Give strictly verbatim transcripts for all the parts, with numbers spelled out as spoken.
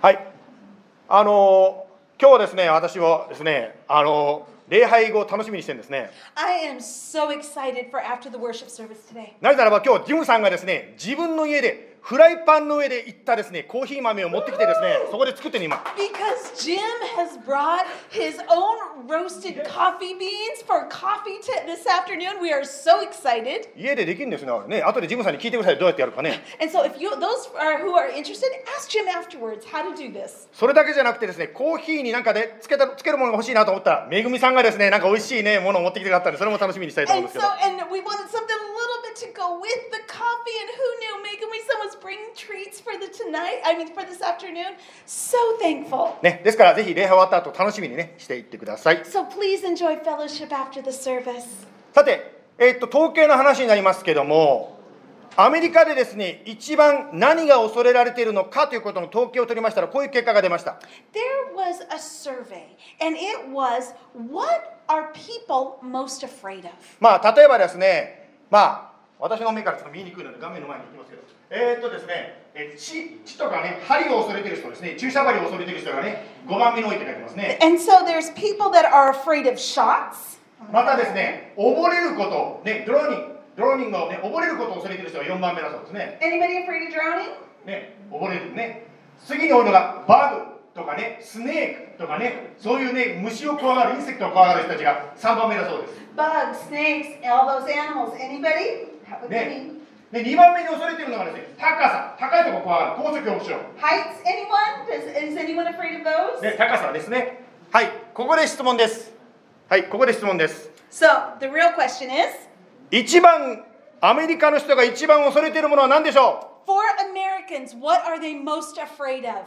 はい、あの今日はですね、私はですね、あの礼拝後を楽しみにしてるんですね。 I am so excited for after the worship service today. なぜならば今日ジムさんがですね、自分の家でフライパンの上でいったですね、コーヒー豆を持ってきてですね、そこで作ってる今。 Because Jim has brought his own roasted coffee beans for coffee t- this afternoon. We are so excited. 家でできるんですね。ね、後でジムさんに聞いてください。どうやってやるかね。 And so if you those are who are interested, ask Jim afterwards how to do this. それだけじゃなくてですね、コーヒーになんかでつけたつけるものが欲しいなと思ったら、めぐみさんがですね、なんか美味しいねものを持ってきてくださったんで、それも楽しみにしたいと思うん And ですけ so ど。 and we wanted something a little bit to go with the coffee, and who knew Megumi-san was bringing treats for the tonight, I mean for this afternoon. So thankful. ね、ですからぜひ礼拝終わった後楽しみにねしていってください。 So please enjoy fellowship after the service. さて、えーっと統計の話になりますけども、アメリカでですね、一番何が恐れられているのかということの統計を取りましたら、こういう結果が出ました。 There was a survey, and it was, what are people most afraid of? まあ例えばですね、まあ私の目からちょっと見えにくいので画面の前に行きますけど、えーっとですね、え血血とかね、針を恐れている人ですね、注射針を恐れている人がね、ごばんめに置いて書いてますね。 And so there's people that are afraid of shots. またですね、溺れること、ね、ドローニング、ドローニングをね、溺れることを恐れている人がよんばんめだそうですね。 Anybody afraid of drowning? ね、溺れるね。次に多いのがバグとかね、スネークとかね、そういうね、虫を怖がる、インセクトを怖がる人たちがさんばんめだそうです。 Bugs, snakes, all those animals. Anybody? What do you ね mean? でにばんめに恐れているのがですね、高さ、高いところ怖がる、高所恐怖症。 Heights, anyone? Does, is anyone afraid of those? ね、高さですね。はい、ここで質問です。はい、ここで質問です。 So the real question is, 一番、アメリカの人が一番恐れているものは何でしょ for Americans, what are they most afraid of?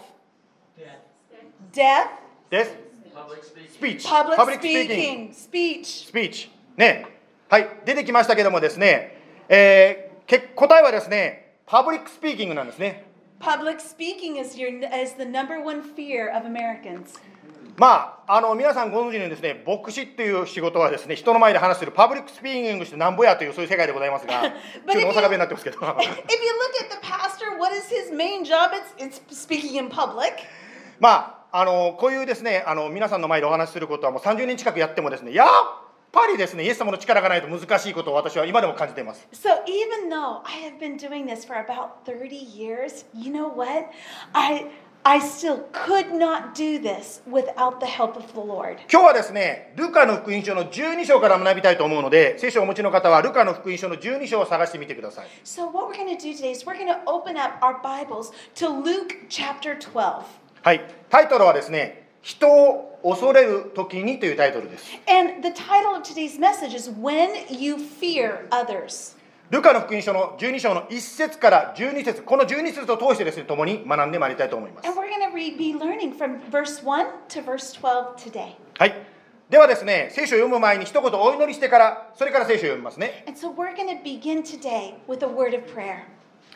Death. Death? うです。 Public speaking. スピーチ。 Public パブリックスピーキング。 speaking. Speech. スピーチ。ね。はい、出てきましたけどもですね、えー、け答えはですね、パブリックスピーキングなんですね。 Public speaking is your is the number one fear of Americans. まあ、あの皆さんご存知のようにですね、牧師っていう仕事はですね、人の前で話するパブリックスピーキングしてなんぼやというそういう世界でございますが、 But ちょっ if と大阪弁 you, になってますけど。 if you look at the pastor, what is his main job? It's, it's speaking in public. まあ、あのこういうですね、あの皆さんの前でお話しすることはもうさんじゅうねん近くやってもですね、やっぱりですね、イエス様の力がないと難しいことを私は今でも感じています。 So even though I have been doing this for about thirty years, you know what? I I still could not do this without the help of the Lord. 今日はですね、ルカの福音書のじゅうに章から学びたいと思うので、聖書をお持ちの方はルカの福音書のじゅうに章を探してみてください。 So what we're going to do today is we're going to open up our Bibles to Luke chapter twelve. はい、タイトルはですね、人を恐れる時にというタイトルです。 And the title of today's message is When You Fear Others. ルカの福音書のじゅうに章のいち節からじゅうに節、このじゅうに節を通してですね、共に学んでまいりたいと思います。 And we're going to re- be learning from verse one to verse twelve today. はい。ではですね、聖書を読む前に一言お祈りしてから、それから聖書を読みますね。 And so we're going to begin today with a word of prayer.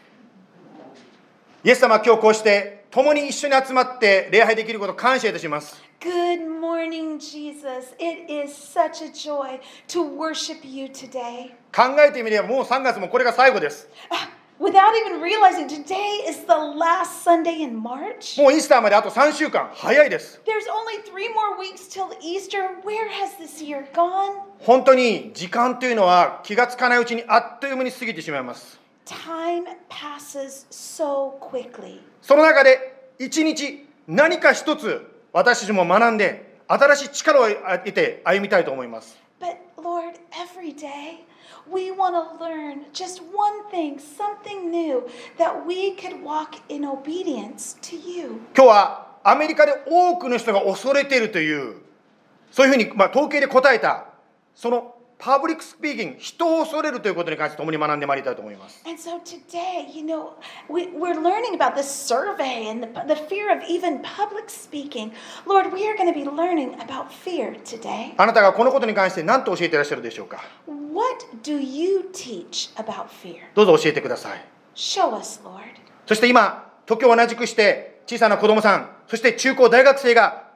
イエス様、今日こうして共に一緒に集まって礼拝できることを感謝いたします。 Good morning, Jesus. It is such a joy to worship you today. 考えてみればもうさんがつもこれが最後です。 Ah, without even realizing, today is the last Sunday in March. もうイースターまであとさんしゅうかん、早いです。 There's only three more weeks till Easter. Where has this year gone? 本当に時間というのは気がつかないうちにあっという間に過ぎてしまいます。 Time passes so quickly. その中で一日何か一つ私たちも学んで新しい力を得て歩みたいと思います。 But Lord, every day we want to learn just one thing, something new, that we could walk in obedience to you. 今日はアメリカで多くの人が恐れているというそういうふうに、まあ、統計で答えたそのパブリックスピーキング、人を恐れるということに関して共に学んでまいりたいと思います。 And so today, you know, we, we're learning about this survey and the, the fear of even public speaking. Lord, we are going to be learning about fear today. あなたがこのことに関して何と教えていらっしゃるでしょうか。 What do you teach about fear? どうぞ教えてください。 Show us, Lord. そして今、時を同じくして小さな子供さん、そして中高大学生が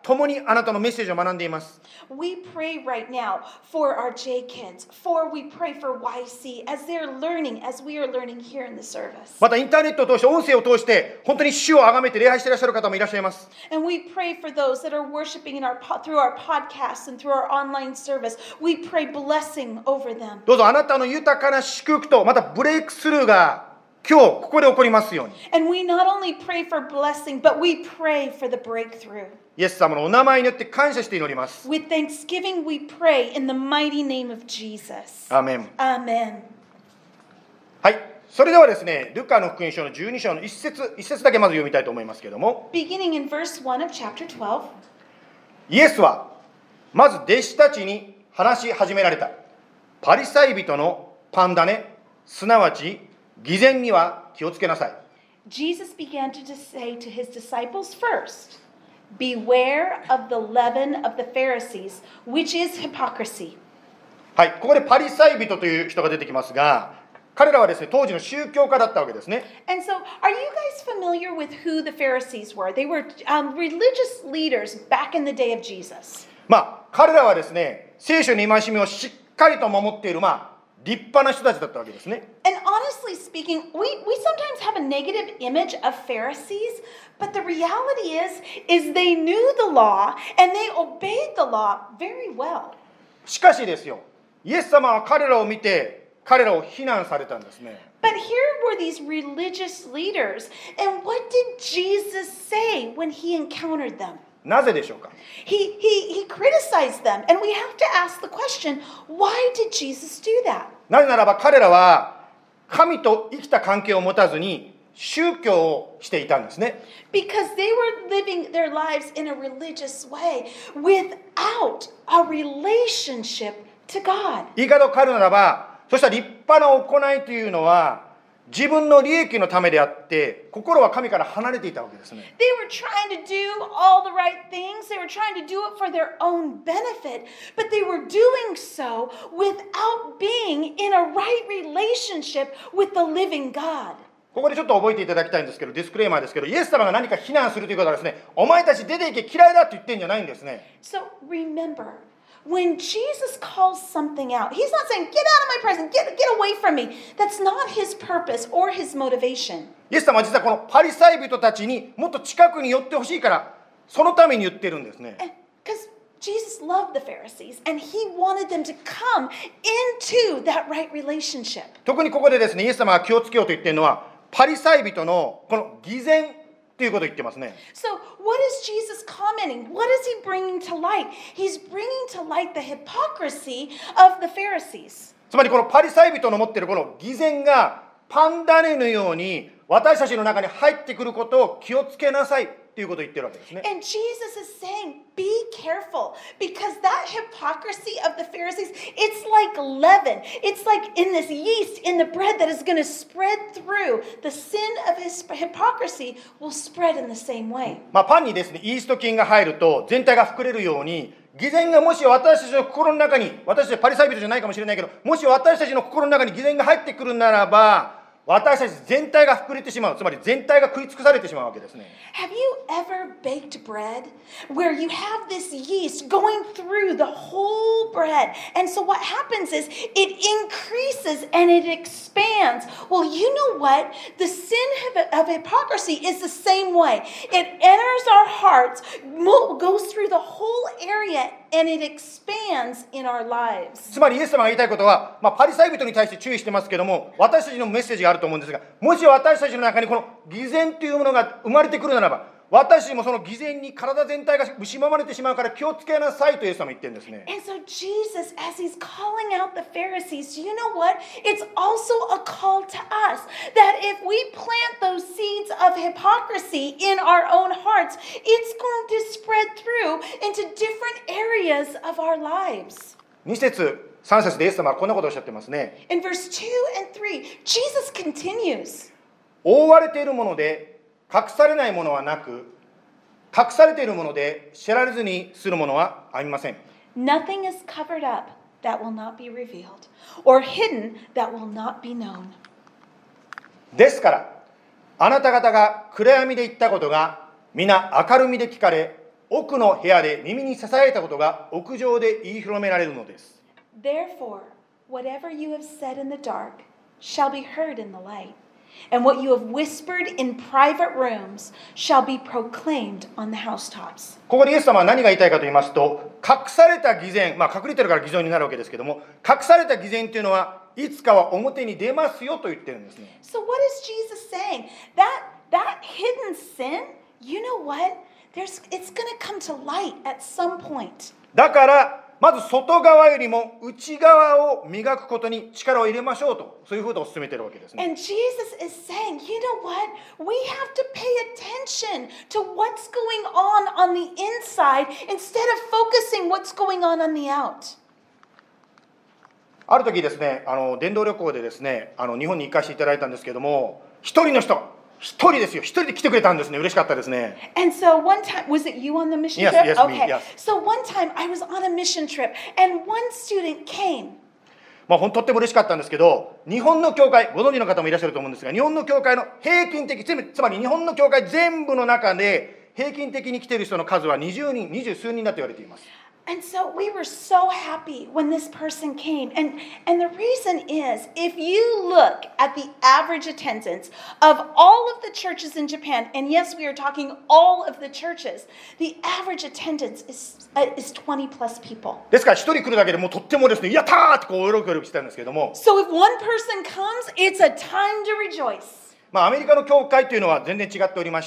共にあなたのメッセージを学んでいます。 We pray right now for our J kids, for we pray for Y C as they're learning, as we are learning here in the service. またインターネットを通して音声を通して本当に主を崇めて礼拝していらっしゃる方もいらっしゃいます。 And we pray for those that are worshiping in our through our podcasts and through our online service. We pray blessing over them. どうぞあなたの豊かな祝福とまたブレイクスルーが今日ここで起こりますように。 And we not only pray for blessing, but we pray for the breakthrough. イエス様のお名前によって感謝して祈ります。 With thanksgiving we pray in the mighty name of Jesus. アーメン。 Amen. はい。それではですね、ルカの福音書のじゅうに章の一節一節だけまず読みたいと思いますけれども、 Beginning in verse one of chapter twelve. イエスはまず弟子たちに話し始められた。パリサイ人のパンダネ、すなわち偽善には気をつけなさい。 Jesus began to say to his disciples first, Beware of the leaven of the Pharisees, which is hypocrisy. はい、ここでパリサイ人という人が出てきますが、彼らはですね、当時の宗教家だったわけですね。 And so, are you guys familiar with who the Pharisees were? They were um, religious leaders back in the day of Jesus. まあ、彼らはですね、聖書の戒めをしっかりと守っている、まあ、立派な人たちだったわけですね。 And honestly speaking, we, we sometimes have a negative image of Pharisees, but the reality is, is they knew the law and they obeyed the law very well. しかしですよ、イエス様は彼らを見て、彼らを非難されたんですね。 But here were these religious leaders, and what did Jesus say when he encountered them? なぜでしょうか。 He, he, he criticized them, and we have to ask the question, why did Jesus do that? なぜならば彼らは神と生きた関係を持たずに宗教をしていたんですね。 Because they were living their lives in a religious way without a relationship to God. 言い方を変えるならば、そしたら立派な行いというのは自分の利益のためであって心は神から離れていたわけですね。 They were trying to do all the right things. They were trying to do it for their own benefit, but they were doing so without being in a right relationship with the living God. ここでちょっと覚えていただきたいんですけど、ディスクレーマーですけど、イエス様が何か非難するということはですね、お前たち出ていけ嫌いだって言ってんじゃないんですね。 So remember, when Jesus calls something out, he's not saying, get out of my presence, get, get away from me. That's not his purpose or his motivation. イエス様は実はこのパリサイ人たちにもっと近くに寄ってほしいから、そのために言ってるんですね。 Because Jesus loved the Pharisees and he wanted them to come into that right relationship. 特にここでですね、イエス様が気をつけようと言っているのは、パリサイ人のこの偽善ということを言ってますね。 So what is Jesus commenting? What is he bringing to light? He's bringing to light the hypocrisy of the Pharisees. つまりこのパリサイ人の持っているこの偽善がパンダネのように私たちの中に入ってくることを気をつけなさいということを言ってるわけですね。 And Jesus is saying, be careful, because that hypocrisy of the Pharisees, it's like leaven. It's like in this yeast in the bread that is going to spread through. The sin of his hypocrisy will spread in the same way. まあ、パンにですね、イースト菌が入ると全体が膨れるように、偽善がもし私たちの心の中に、私たちパリサイ人じゃないかもしれないけど、もし私たちの心の中に偽善が入ってくるならば、私たち全体が膨れてしまう。つまり全体が食い尽くされてしまうわけですね。 Have you ever baked bread where you have this yeast going through the whole bread? And so what happens is it increases and it expands. Well, you know what? The sin of hypocrisy is the same way. It enters our hearts, goes through the whole area, and it expands in our lives. つまりイエス様が言いたいことは、まあ、パリサイ人に対して注意してますけども、私たちのメッセージがあると思うんですが、もし私たちの中にこの偽善というものが生まれてくるならば、私たちもその偽善に体全体が蝕まれてしまうから気をつけなさいとイエス様は言ってるんですね。 And so Jesus, as he's calling out the Pharisees, you know what? It's also a call to us that if we plant those seeds of hypocrisy in our own hearts, it's going to spread through into different areas of our lives. に節、さん節でイエス様はこんなことをおっしゃってますね。 In verse two and three, Jesus continues. 覆われているもので隠されないものはなく、隠されているもので知られずにするものはありません。 Nothing is covered up that will not be revealed, or hidden that will not be known. ですからあなた方が暗闇で言ったことが皆明るみで聞かれ、 奥の部屋で耳にささやいたことが屋上で言い広められるのです。 Therefore, whatever you have said in the dark shall be heard in the light, and what you have whispered in private rooms shall be proclaimed on the housetops. ここでイエス様は何が言いたいかと言いますと、隠された偽善、まあ隠れてるから偽善になるわけですけども、隠された偽善というのはいつかは表に出ますよと言ってるんですね。 So what is Jesus saying? That that hidden sin, you know what? There's it's going to come to light at some point. だからまず外側よりも内側を磨くことに力を入れましょうと、そういうことを勧めているわけですね。 And Jesus is saying, you know what? We have to pay attention to what's going on on the inside instead of focusing what's going on on the out. ある時ですね、あの伝道旅行でですね、あの日本に行かせていただいたんですけども、一人の人が一人ですよ。一人で来てくれたんですね。嬉しかったですね。 And so one time, was it you on the mission Yes, trip? yes, me, Okay. yes. So one time I was on a mission trip and one student came. まあ、ほんとっても嬉しかったんですけど、日本の教会、ご存知の方もいらっしゃると思うんですが、日本の教会の平均的、つまり日本の教会全部の中で平均的に来ている人の数はにじゅうにん、二十数人だと言われています。 And so we were so happy when this person came. And, and the reason is, if you look at the average attendance of all of the churches in Japan, and yes, we are talking all of the churches, the average attendance is, uh, is twenty plus people. ですから一人来るだけでもうとってもですね、やったーってこう喜びしてたんですけども、 So if one person comes, it's a time to rejoice. まあ、アメリカの教会というのは全然違っておりまして、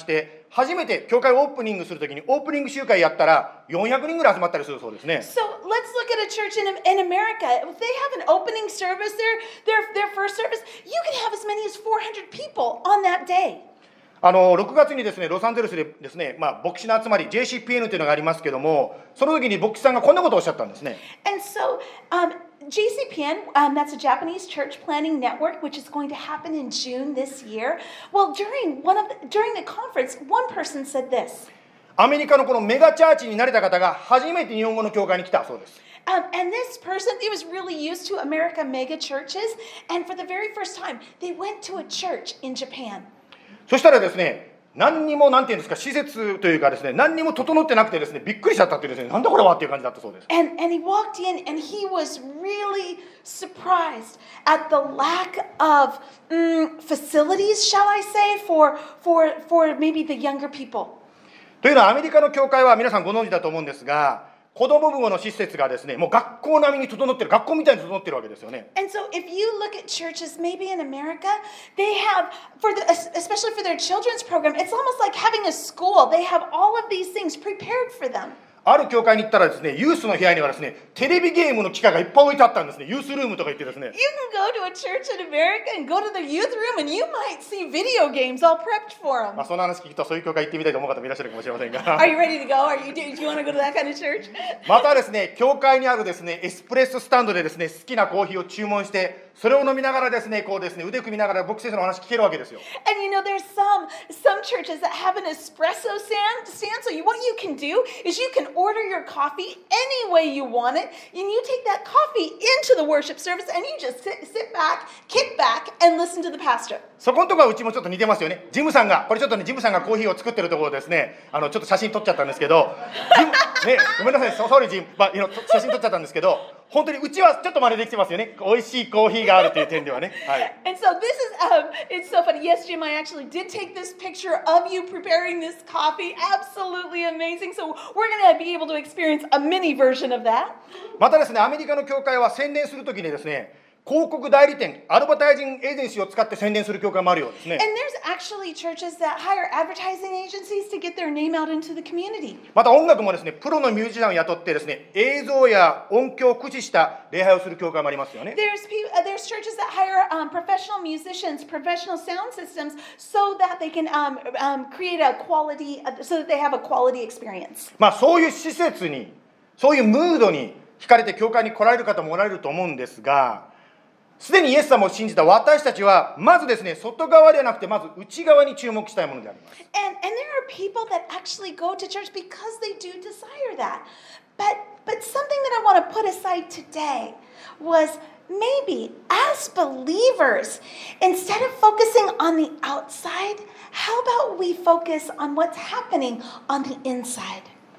初めて教会をオープニングするときにオープニング集会やったらよんひゃくにんぐらい集まったりするそうですね。 So let's look at a church in, in America. If they have an opening service, their, their, their first service, you can have as many as four hundred people on that day. あのろくがつにですね、ロサンゼルスでですね、まあ、牧師の集まり ジェーシーピーエヌ というのがありますけども、その時に牧師さんがこんなことをおっしゃったんですね。 And so um, J C P N, um, that's a Japanese church planning network, which is going to happen in June this year. Well, during one of the, during the conference, one person said this. アメリカのこのメガチャーチになれた方が初めて日本語の教会に来たそうです。 Um, and this person, he was really used to America mega churches. And for the very first time, they went to a church in Japan. そしたらですね、何にもなんていうんですか、施設というかですね、何にも整ってなくてですね、びっくりしちゃったっていうですね、なんだこれはっていう感じだったそうです。 And, and he walked in and he was really surprised at the lack of um, facilities, shall I say, for, for, for maybe the younger people. というのはアメリカの教会は皆さんご存知だと思うんですが、子供部の施設がですね、もう学校並みに整ってる、学校みたいに整ってるわけですよね。 And so if you look at churches, maybe in America, they have, for the, especially for their children's program, it's almost like having a school. They have all of these things prepared for them. ある教会に行ったらですね、ユースの部屋にはですね、テレビゲームの機械がいっぱい置いてあったんですね。ユースルームとか言ってですね。 You can go to a church in America and go to the youth room and you might see video games all prepped for ま them. あその話聞くとそういう教会行ってみたいと思う方もいらっしゃるかもしれませんが Are you ready to go? Are you, do you want to go to that kind of church? またですね、教会にあるですね、エスプレッソスタンドでですね、好きなコーヒーを注文して、それを飲みながらですね、こうですね、腕組みながら牧師先生のお話聞けるわけですよ。 And you know, there's some some churches that have an espresso stand. stand so you, what you can do is you can order your coffee any way you want it, and you take that coffee into the worship service, and you just sit, sit back, kick back, and listen to the pastor. そこのところはうちもちょっと似てますよね。ジムさんが、これちょっとね、ジムさんがコーヒーを作ってるところですね、あのちょっと写真撮っちゃったんですけど、ジムね、ごめんなさい、ソーリージム、まあ、写真撮っちゃったんですけど、本当にうちはちょっと真似できてますよね。美味しいコーヒーがあるという点ではね。はい。 And so this is, um, it's so funny. Yes, Jim, I actually did take this picture of you preparing this coffee. Absolutely amazing. So we're going to be able to experience a mini version of that. またですね、アメリカの教会は宣伝するときにですね、広告代理店、アドバタイジングエージェンシーを使って宣伝する教会もあるようですね。 And there's actually churches that hire advertising agencies to get their name out into the community. また音楽もですね、プロのミュージシャンを雇ってですね、映像や音響を駆使した礼拝をする教会もありますよね。 There's pe- uh, there's churches that hire um, professional musicians, professional sound systems, so that they can um, um, create a quality, uh, so that they have a quality experience. まあそういう施設に、そういうムードに惹かれて教会に来られる方もおられると思うんですが、すでにイエス様を信じた私たちはまずですね、外側ではなくてまず内側に注目したいものであります。 And, and there are people that actually go to church because they do desire that. But, but something that I want to put aside today was maybe as believers, instead of focusing on the outside, how about we focus on what's happening on the inside?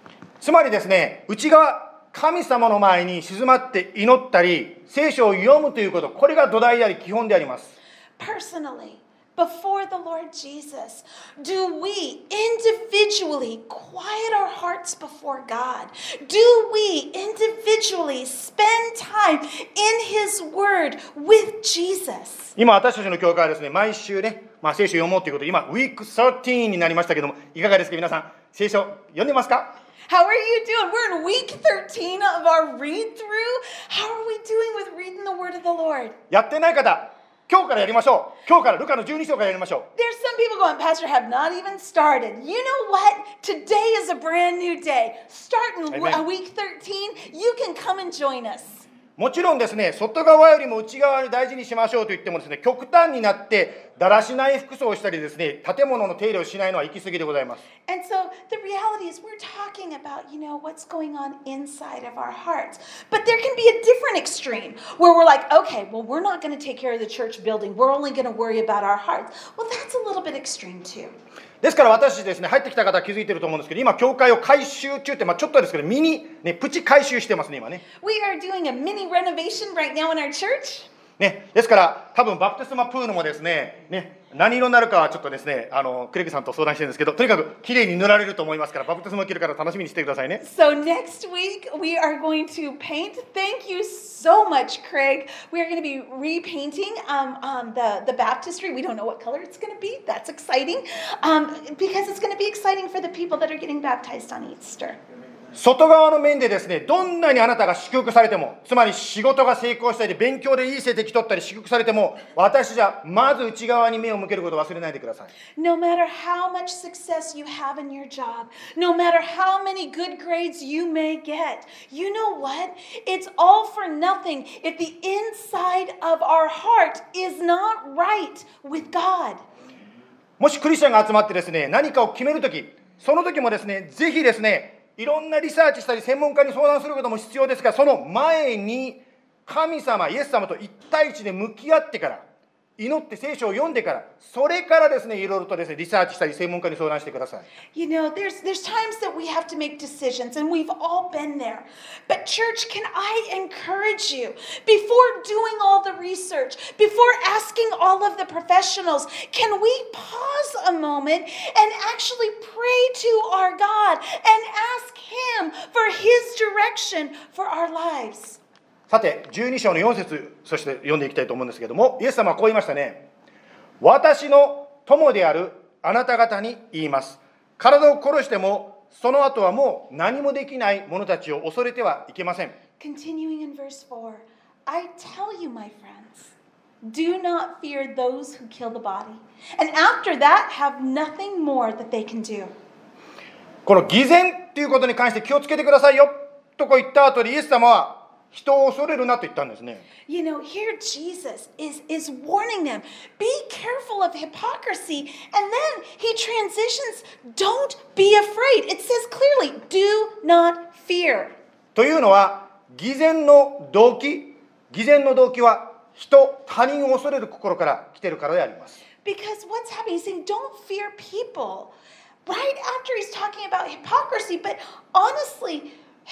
つまりですね、内側、神様の前に静まって祈ったり、聖書を読むということ、これが土台であり、基本であります。 Personally, before the Lord Jesus, do we individually quiet our hearts before God? Do we individually spend time in His Word with Jesus? 今、私たちの教会はですね、毎週ね、まあ、聖書を読もうということで、今、ウィークじゅうさんになりましたけども、いかがですか、皆さん、聖書読んでますか？ How are you doing? We're in week thirteen of our read through. How are we doing with reading the Word of the Lord? やってない方、今日からやりましょう。今日からルカのじゅうに章からやりましょう。 There's some people going, Pastor, have not even started. You know what? Today is a brand new day. Start in Amen. week thirteen. You can come and join us. もちろんですね、外側よりも内側に大事にしましょうと言ってもですね、極端になってだらしない服装をしたりですね、建物の手入れをしないのは行き過ぎでございます。 And so the reality is we're talking about, you know, what's going on inside of our hearts. But there can be a different extreme where we're like, okay, well, we're not going to take care of the church building. We're only going to worry about our hearts. Well, that's a little bit extreme too. ですから私ですね、入ってきた方は気づいていると思うんですけど、今教会を改修中って、まあ、ちょっとですけどミニ、ね、プチ改修してますね今ね。 We are doing a mini renovation right now in our church. ね、ですから多分バプテスマプールもですね、ね、何色になるかはちょっとですね、あのクレイグさんと相談してるんですけど、とにかく綺麗に塗られると思いますから、バプテスマを受けるから楽しみにしてくださいね。 So next week we are going to paint. Thank you so much, Craig. We are going to be repainting um, um, the, the baptistry. We don't know what color it's going to be. That's exciting um, because it's going to be exciting for the people that are getting baptized on Easter. 外側の面でですね、どんなにあなたが祝福されても、つまり仕事が成功したり、勉強でいい成績取ったり、祝福されても、私じゃまず内側に目を向けることを忘れないでください。 No matter how much success you have in your job, no matter how many good grades you may get, you know what? It's all for nothing if the inside of our heart is not right with God. もしクリスチャンが集まってですね、何かを決めるとき、その時もですね、ぜひですね、いろんなリサーチしたり専門家に相談することも必要ですが、その前に神様、イエス様と一対一で向き合ってから、祈って聖書を読んでから、それからですね、いろいろとですね、リサーチしたり専門家に相談してください。 You know, there's there's times that we have to make decisions, and we've all been there. But church, can I encourage you, before doing all the research, before asking all of the professionals, can we pause a moment and actually pray to our God and ask Him for His direction for our lives? さて、じゅうに章のよん節、そして読んでいきたいと思うんですけども、イエス様はこう言いましたね。私の友であるあなた方に言います。体を殺しても、その後はもう何もできない者たちを恐れてはいけません。 Continuing in verse four, I tell you, my friends, do not fear those who kill the body, and after that have nothing more that they can do. この偽善ということに関して気をつけてくださいよとこう言った後で、イエス様は人を恐れるなと言ったんですね。 You know, here Jesus is, is warning them, be careful of hypocrisy. And then he transitions, don't be afraid. It says clearly, do not fear. というのは、偽善の動機、偽善の動機は人、他人を恐れる心から来ているからであります。 Because what's happening, he's saying, don't fear people. Right after he's talking about hypocrisy, but honestly,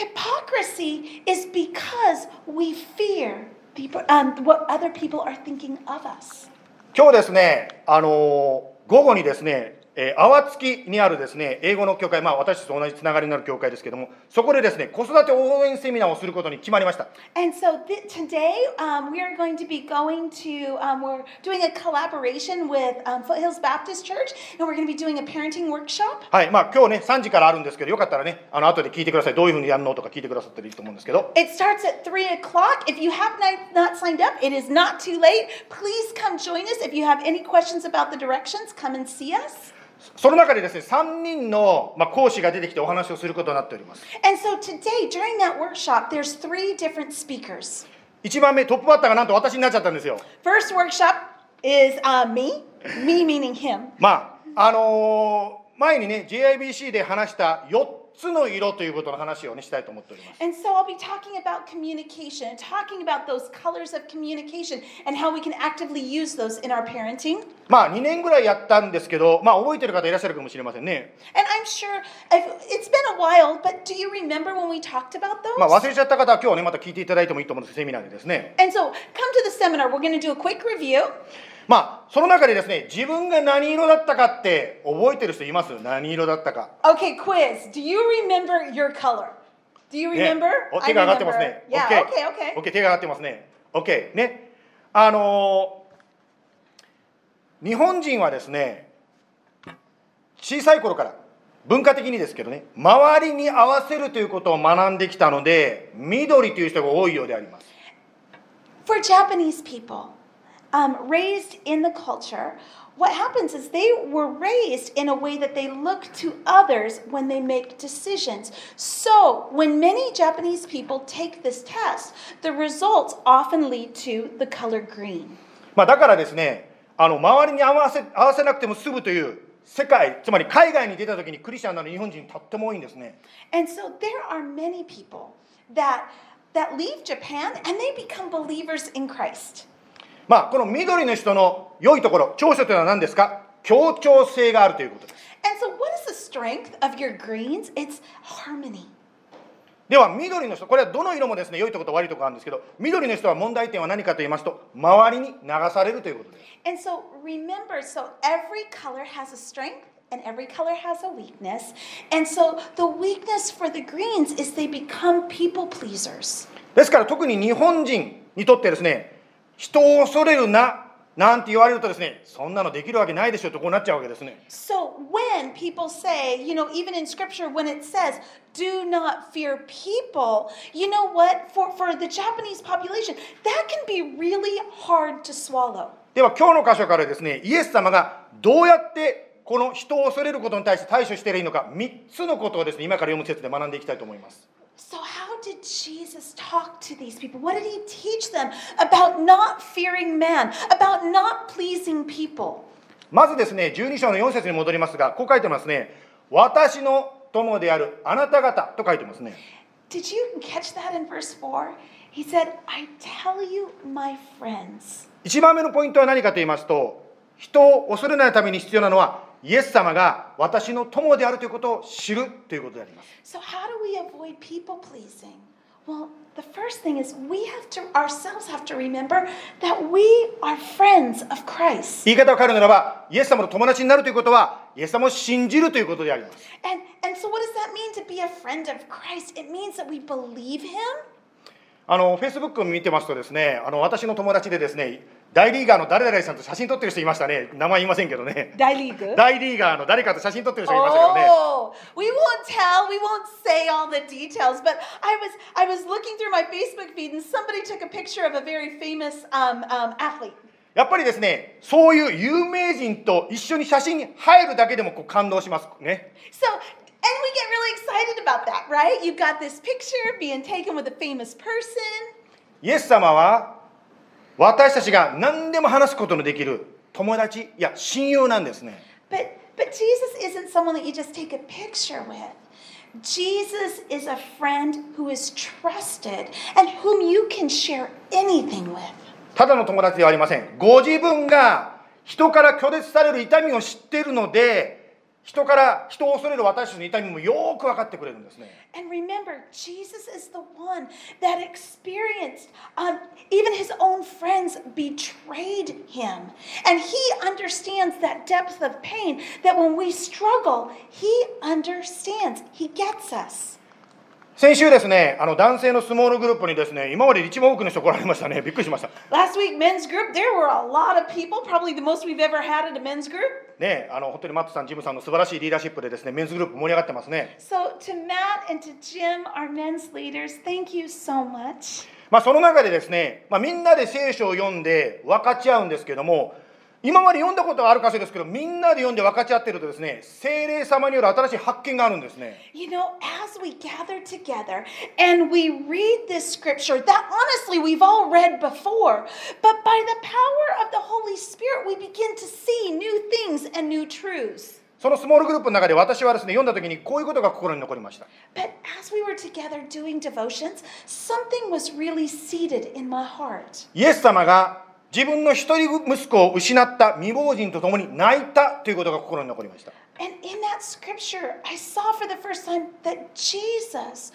hypocrisy is because we fear people, um, what other people are thinking of us. 今日ですね、あのー、午後にですね、えー、淡月にあるですね、英語の教会、まあ私たちと同じつながりになる教会ですけども、そこでですね、子育て応援セミナーをすることに決まりました。 And so th- today um, we are going to be going to, um, we're doing a collaboration with um, Foothills Baptist Church, and we're going to be doing a parenting workshop. はい、まあ今日ね、さんじからあるんですけど、よかったらね、あの後で聞いてください。どういうふうにやるのとか聞いてくださったらいいと思うんですけど。 It starts at three o'clock. If you have not, not signed up, it is not too late. Please come join us. If you have any questions about the directions, come and see us. その中でですね、さんにんの、まあ、講師が出てきてお話をすることになっております。 And so today, during that workshop, there's three different speakers. いちばんめ、トップバッターがなんと私になっちゃったんですよ。 First workshop is uh, me, me meaning him. まあ、あのー、前にね、ジェイアイビーシー で話したよっつの色ということの話を、ね、したいと思っております。 And so I'll be talking about communication and talking about those colors of communication and how we can actively use those in our parenting. まあにねんぐらいやったんですけど、まあ覚えてる方いらっしゃるかもしれませんね。 And I'm sure I've, it's been a while, but do you remember when we talked about those? まあ忘れちゃった方は今日ねまた聞いていただいてもいいと思うんです、セミナーでですね。 And so come to the seminar. We're going to do a quick review. まあその中でですね、自分が何色だったかって覚えてる人います？何色だったか。 Okay, quiz. Do you remember your color? Do you ね remember? お手が上がってますね。 Yeah, OK okay, okay. OK 手が上がってますね。OK ね。あのー日本人はですね、小さい頃から文化的にですけどね、周りに合わせるということを学んできたので、緑という人が多いようであります。 For Japanese people, um, raised in the culture, what happens is they were raised in a way that they look to others when they make decisions. So, when many Japanese people take this test, the results often lead to the color green. まあだからですね、あの周りに合わせ合わせなくても済むという世界、つまり海外に出た時にクリスチャンなの日本人とっても多いんですね。 And so there are many people that that leave Japan and they become believers in Christ. まあこの緑の人の良いところ、長所というのは何ですか？協調性があるということです。 And so what is the strength of your greens? It's harmony. では緑の人、これはどの色もですね良いところと悪いところがあるんですけど、緑の人は問題点は何かと言いますと、周りに流されるということです。 And so remember, so every color has a strength and every color has a weakness. And so the weakness for the greens is they become people pleasers. ですから特に日本人にとってですね、人を恐れるななんて言われるとですね、そんなのできるわけないでしょとこうなっちゃうわけですね。 So when people say, you know, even in scripture when it says, do not fear people, you know what? For, for the Japanese population, that can be really hard to swallow. では今日の箇所からですね、イエス様がどうやってこの人を恐れることに対して対処していいのか、みっつのことをですね、今から読む説で学んでいきたいと思います。 So how did Jesus talk to these people? What did he teach them about not fearing man, about not pleasing people? まずですね、じゅうに章のよん節に戻りますが、こう書いてますね。私の友であるあなた方と書いてますね。 Did you catch that in verse four? He said, I tell you, my friends. 一番目のポイントは何かと言いますと、人を恐れないために必要なのは、イエス様が私の友であるということを知るということであります。 So how do we avoid people pleasing? Well, the first thing is we have to ourselves have to remember that we are friends of Christ. 言い方を変えるならば、イエス様の友達になるということは、イエス様を信じるということであります。 And and so what does that mean to be a friend of Christ? It means that we believe him. あの、Facebook を見てますとですね、あの私の友達でですね、大リーガーの誰々さんと写真撮ってる人いましたね。名前言いませんけどね。大リーガーの誰かと写真撮ってる人いましたけどね。 Oh, we won't tell, we won't say all the details, but I was I was looking through my Facebook feed and somebody took a picture of a very famous um, um, athlete. やっぱりですね、そういう有名人と一緒に写真に入るだけでもこう感動しますね。 So, and we get really excited about that, right? You've got this picture being taken with a famous person. イエス様は私たちが何でも話すことのできる友達、いや親友なんですね。 But but Jesus isn't someone that you just take a picture with. Jesus is a friend who is trusted and whom you can share anything with. ただの友達ではありません。ご自分が人から拒絶される痛みを知っているので、人から人を恐れる私たちの痛みもよく分かってくれるんですね。 And remember, Jesus is the one that experienced, um, even his own friends betrayed him. And he understands that depth of pain, that when we struggle, he understands, he gets us. 先週ですね、あの男性の相撲のグループにですね、今までで一番多くの人来られましたね。びっくりしました。 Last week, men's group, there were a lot of people, probably the most we've ever had at a men's group. ね、あの本当にマットさん、ジムさんの素晴らしいリーダーシップでですね、メンズグループ盛り上がってますね。 So to Matt and to Jim, our men's leaders, thank you so much. まあその中でですね、まあ、みんなで聖書を読んで分かち合うんですけども、今まで読んだことはある箇所ですけど、みんなで読んで分かち合っているとですね、聖霊様による新しい発見があるんですね。 You know, as we gather together and we read this scripture that honestly we've all read before, but by the power of the Holy Spirit we begin to see new things and new truths. そのスモールグループの中で私はですね、読んだ時にこういうことが心に残りました。 But as we were together doing devotions, something was really seated in my heart. イエス様が自分の一人息子を失った未亡人と共に泣いたということが心に残りました。 And in that scripture, I saw for the first time that Jesus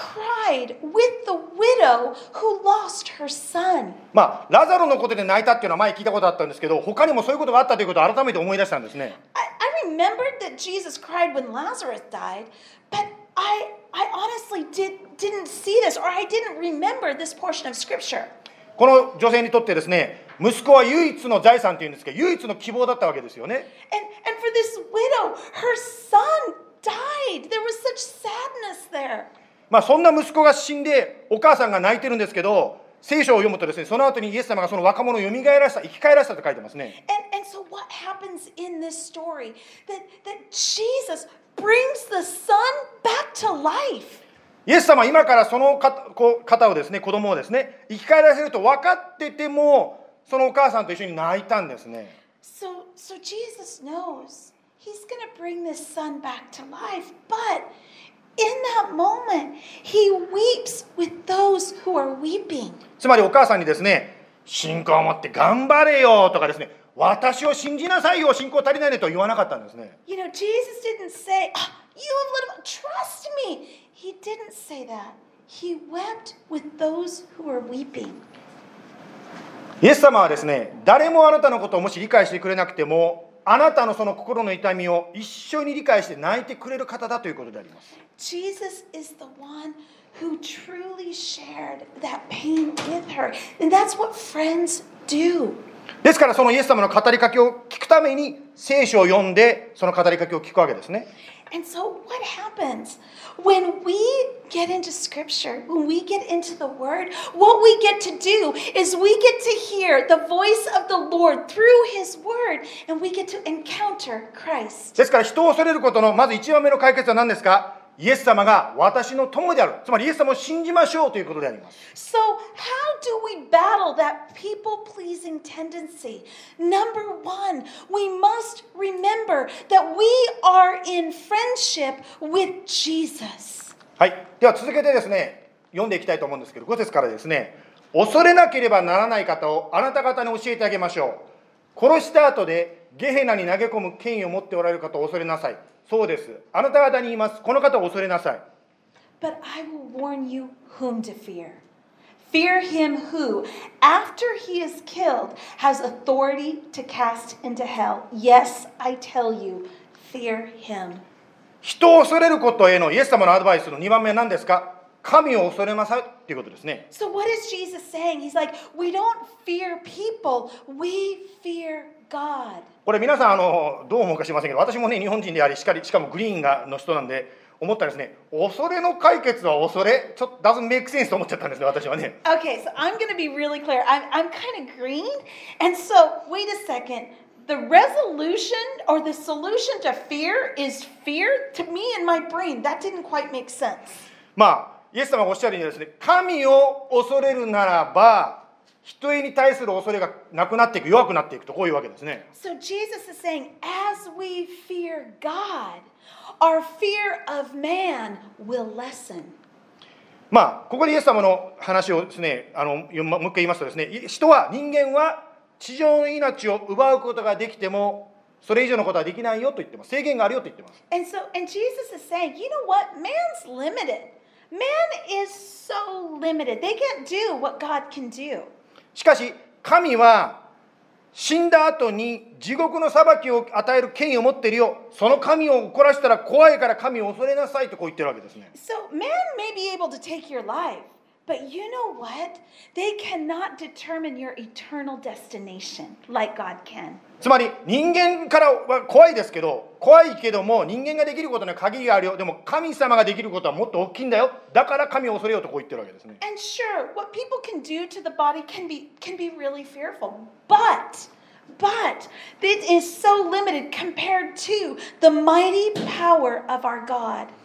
cried with the widow who lost her son. まあ、ラザロのことで泣いたっていうのは前聞いたことあったんですけど、他にもそういうことがあったということを改めて思い出したんですね。 I, I remembered that Jesus cried when Lazarus died, but I, I honestly did, didn't see this, or I didn't remember this portion of scripture. この女性にとってですね、息子は唯一の財産というんですけど、唯一の希望だったわけですよね。 And, and for this widow, her son died. There was such sadness there. まあ、そんな息子が死んでお母さんが泣いてるんですけど、聖書を読むとですね、その後にイエス様がその若者を蘇らせた、生き返らせたと書いてますね。 And, and so what happens in this story? That, that Jesus brings the son back to life. イエス様は今からその方をですね、子供をですね、生き返らせると分かってても、そのお母さんと一緒に泣いたんですね。 So, so Jesus knows he's going to bring this son back to life, but in that moment, he weeps with those who are weeping. つまりお母さんにですね、信仰を持って頑張れよとかですね、私を信じなさいよ、信仰足りないねと言わなかったんですね。 You know, Jesus didn't say, oh, you little, trust me. He didn't say that. He wept with those who were weeping. イエス様はですね、誰もあなたのことをもし理解してくれなくても、あなたのその心の痛みを一緒に理解して泣いてくれる方だということであります。 Jesus is the one who truly shared that pain with her. And that's what friends do. ですからそのイエス様の語りかけを聞くために聖書を読んでその語りかけを聞くわけですね。 And so what happens when we get into scripture, when we get into the word, what we get to do is we get to hear the voice of the Lord through his word, and we get to encounter Christ. ですから人を恐れることのまず一番目の解決は何ですか？イエス様が私の友である。つまりイエス様を信じましょうということであります。 So how do we battle that people-pleasing tendency? Number one, we must remember that we are in friendship with Jesus. はい。では続けてですね、読んでいきたいと思うんですけど、ご節からですね、恐れなければならない方をあなた方に教えてあげましょう。殺した後でゲヘナに投げ込む権威を持っておられる方を恐れなさい。そうです。あなた方に言います。この方を恐れなさい。 But I will warn you whom to fear. Fear him who, after he is killed, has authority to cast into hell. Yes, I tell you, fear him. 人を恐れることへのイエス様のアドバイスのにばんめは何ですか？神を恐れなさいということですね。 So what is Jesus saying? He's like, we don't fear people, we fear God. これ皆さんあのどう思うか知りませんけど、私もね日本人でありしかりしかもグリーンがの人なんで思ったらですね、恐れの解決は恐れちょっと doesn't make sense と思っちゃったんですね、私はね。 Okay, so I'm going to be really clear. I'm I'm kind of green, and so wait a second. The resolution or the solution to fear is fear. To me in my brain, that didn't quite make sense. まあイエス様がおっしゃるようにですね、神を恐れるならば人へに対する恐れがなくなっていく、弱くなっていくとこういうわけですね。 So Jesus is saying, as we fear God, our fear of man will lessen. まあここでイエス様の話をですね、あのもう一回言いますとですね、人は人間は地上の命を奪うことができてもそれ以上のことはできないよと言ってます。制限があるよと言ってます。 And so, and Jesus is saying, you know what? Man's limited. Man is so limited. They can't do what God can do. しかし神は死んだ後に地獄の裁きを与える権威を持っているよ。その神を怒らせたら怖いから神を恐れなさいとこう言ってるわけですね。 So man may be able to take your life, but you know what? They cannot determine your eternal destination like God can. つまり人間からは怖いですけど、怖いけども人間ができることには限りがあるよ。でも神様ができることはもっと大きいんだよ。だから神を恐れようとこう言ってるわけですね。 And sure, what people can do to the body can be can be really fearful, but but it is so limited compared to the mighty power of our God.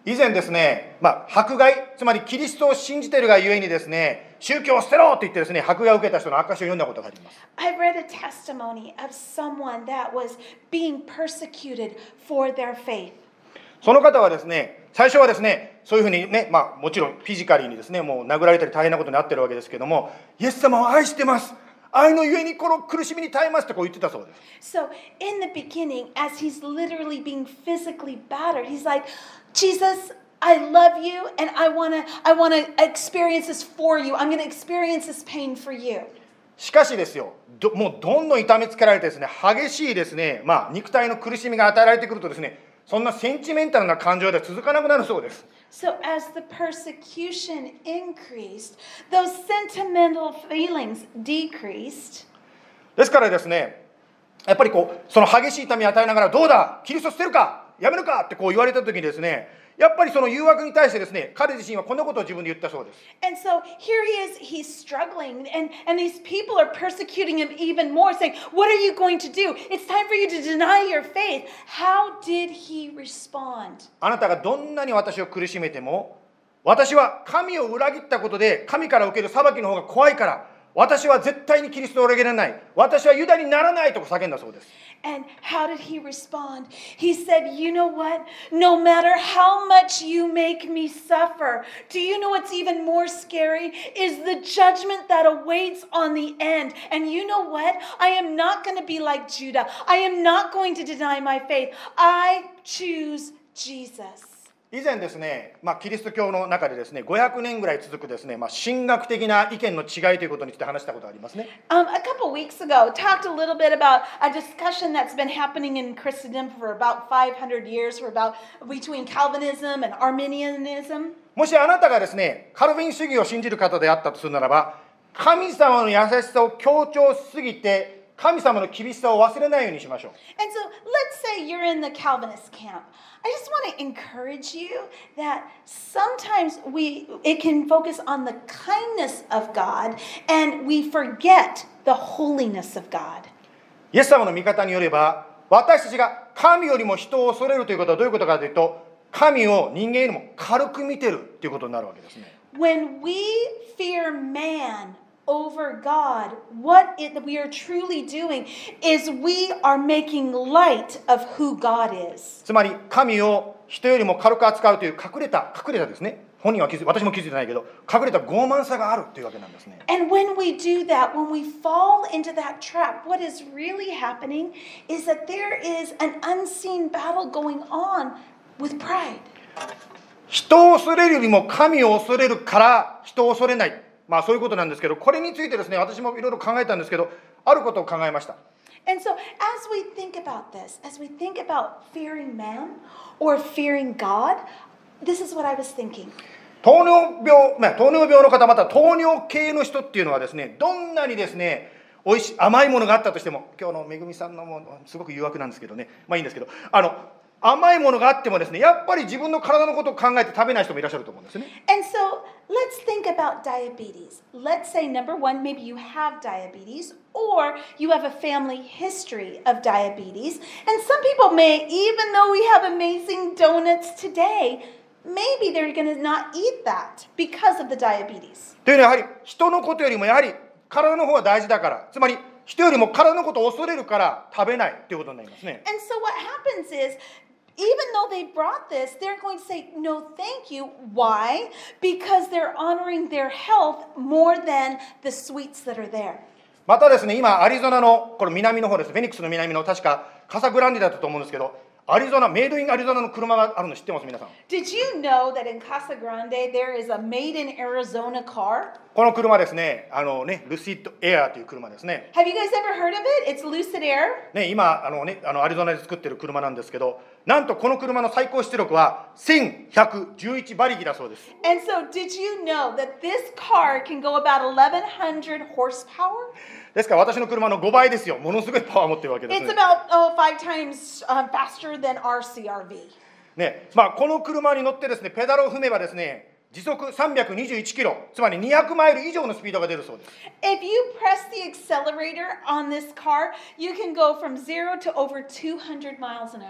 以前ですね、まあ、迫害、つまりキリストを信じているがゆえにですね、宗教を捨てろと言ってですね、迫害を受けた人の証を読んだことがあります。 I've read a testimony of someone that was being persecuted for their faith. その方はですね、最初はですね、そういうふうにね、まあ、もちろんフィジカリーにですね、もう殴られたり大変なことになってるわけですけども、イエス様を愛してます。愛のゆえにこの苦しみに耐えますってこう言ってたそうです。 So in the beginning, as he's literally being physically battered, he's like, Jesus, I love you and I want to I want to experience this for you. I'm going to experience this pain for you. しかしですよ、どもうどんどん痛めつけられてですね、激しいですね、まあ、肉体の苦しみが与えられてくるとですね、そんなセンチメンタルな感情では続かなくなるそうです。 So as the persecution increased, those sentimental feelings decreased. ですからですね、やっぱりこうその激しい痛みを与えながら、どうだ、キリスト捨てるか、やめるかってこう言われた時にですね、やっぱりその誘惑に対してですね、彼自身はこんなことを自分で言ったそうです。 And so here he is, he's struggling, and, and these people are persecuting him even more, saying, What are you going to do? It's time for you to deny your faith. How did he respond? あなたがどんなに私を苦しめても、私は神を裏切ったことで神から受ける裁きの方が怖いから、私は絶対にキリストを裏切らない、私はユダにならないと叫んだそうです。 And how did he respond? He said, You know what? No matter how much you make me suffer, do you know what's even more scary? Is the judgment that awaits on the end. And you know what? I am not going to be like Judah. I am not going to deny my faith. I choose Jesus. 以前ですね、まあ、キリスト教の中でですね、ごひゃくねんぐらい続くですね、まあ、神学的な意見の違いということについて話したことがありますね。 Um, a couple weeks ago, talked a little bit about a discussion that's been happening in Christendom for about five hundred years, for about between Calvinism and Arminianism. もしあなたがですね、カルビン主義を信じる方であったとするならば、神様の優しさを強調しすぎて、神様の厳しさを忘れないようにしましょう。 And so let's say you're in the Calvinist camp. I just want to encourage you that sometimes we it can focus on the kindness of God and we forget the holiness of God. イエス様の見方によれば、私たちが神よりも人を恐れるということはどういうことかというと、神を人間よりも軽く見てるということになるわけですね。 When we fear man over God, what it, we are truly doing is we are making light of who God is. つまり神を人よりも軽く扱うという隠れた隠れたですね、本人は気づ私も気づいてないけど、隠れた傲慢さがあるというわけなんですね。 And when we do that, when we fall into that trap, what is really happening is that there is an unseen battle going on with pride. 人を恐れるよりも神を恐れるから人を恐れない、まあそういうことなんですけど、これについてですね、私もいろいろ考えたんですけど、あることを考えました。 And so as we think about this, as we think about fearing man or fearing God, this is what I was thinking. 糖尿病、まあ、糖尿病の方、また糖尿系の人っていうのはですね、どんなにですね、おいしい甘いものがあったとしても、今日のめぐみさんのもすごく誘惑なんですけどね、まあいいんですけど、あの甘いものがあってもですね、やっぱり自分の体のことを考えて食べない人もいらっしゃると思うんですね。 And so let's think about diabetes. Let's say number one, maybe you have diabetes or you have a family history of diabetes. And some people may, even though we have amazing donuts today, maybe they're going to not eat that because of the diabetes. というのはやはり人のことよりもやはり体の方が大事だから、つまり人よりも体のことを恐れるから食べないということになりますね。 And so what happens is, even though they brought this, they're going to say, no, thank you. Why? Because they're honoring their health more than the sweets that are there. またですね、今アリゾナのこれ南の方です。フェニックスの南の確かカサグランデだったと思うんですけど、アリゾナ、メイドインアリゾナの車があるの知ってます皆さん。 Did you know that in Casa Grande there is a made in Arizona car? この車ですね、あのね、ルシッドエアーという車ですね。 Have you guys ever heard of it? It's Lucid Air. ね、今あのね、あのアリゾナで作ってる車なんですけど、なんとこの車の最高出力はせんひゃくじゅういち馬力だそうです。 And so did you know that this car can go about eleven hundred horsepower? ですから私の車のごばいですよ。ものすごいパワーを持ってるわけです It's ね。 about oh, five times uh, faster than our C R V. ね、まあこの車に乗ってですね、ペダルを踏めばですね、時速さんびゃくにじゅういちキロ、つまりにひゃくマイル以上のスピードが出るそうです。 If you press the accelerator on this car, you can go from zero to over two hundred miles an hour.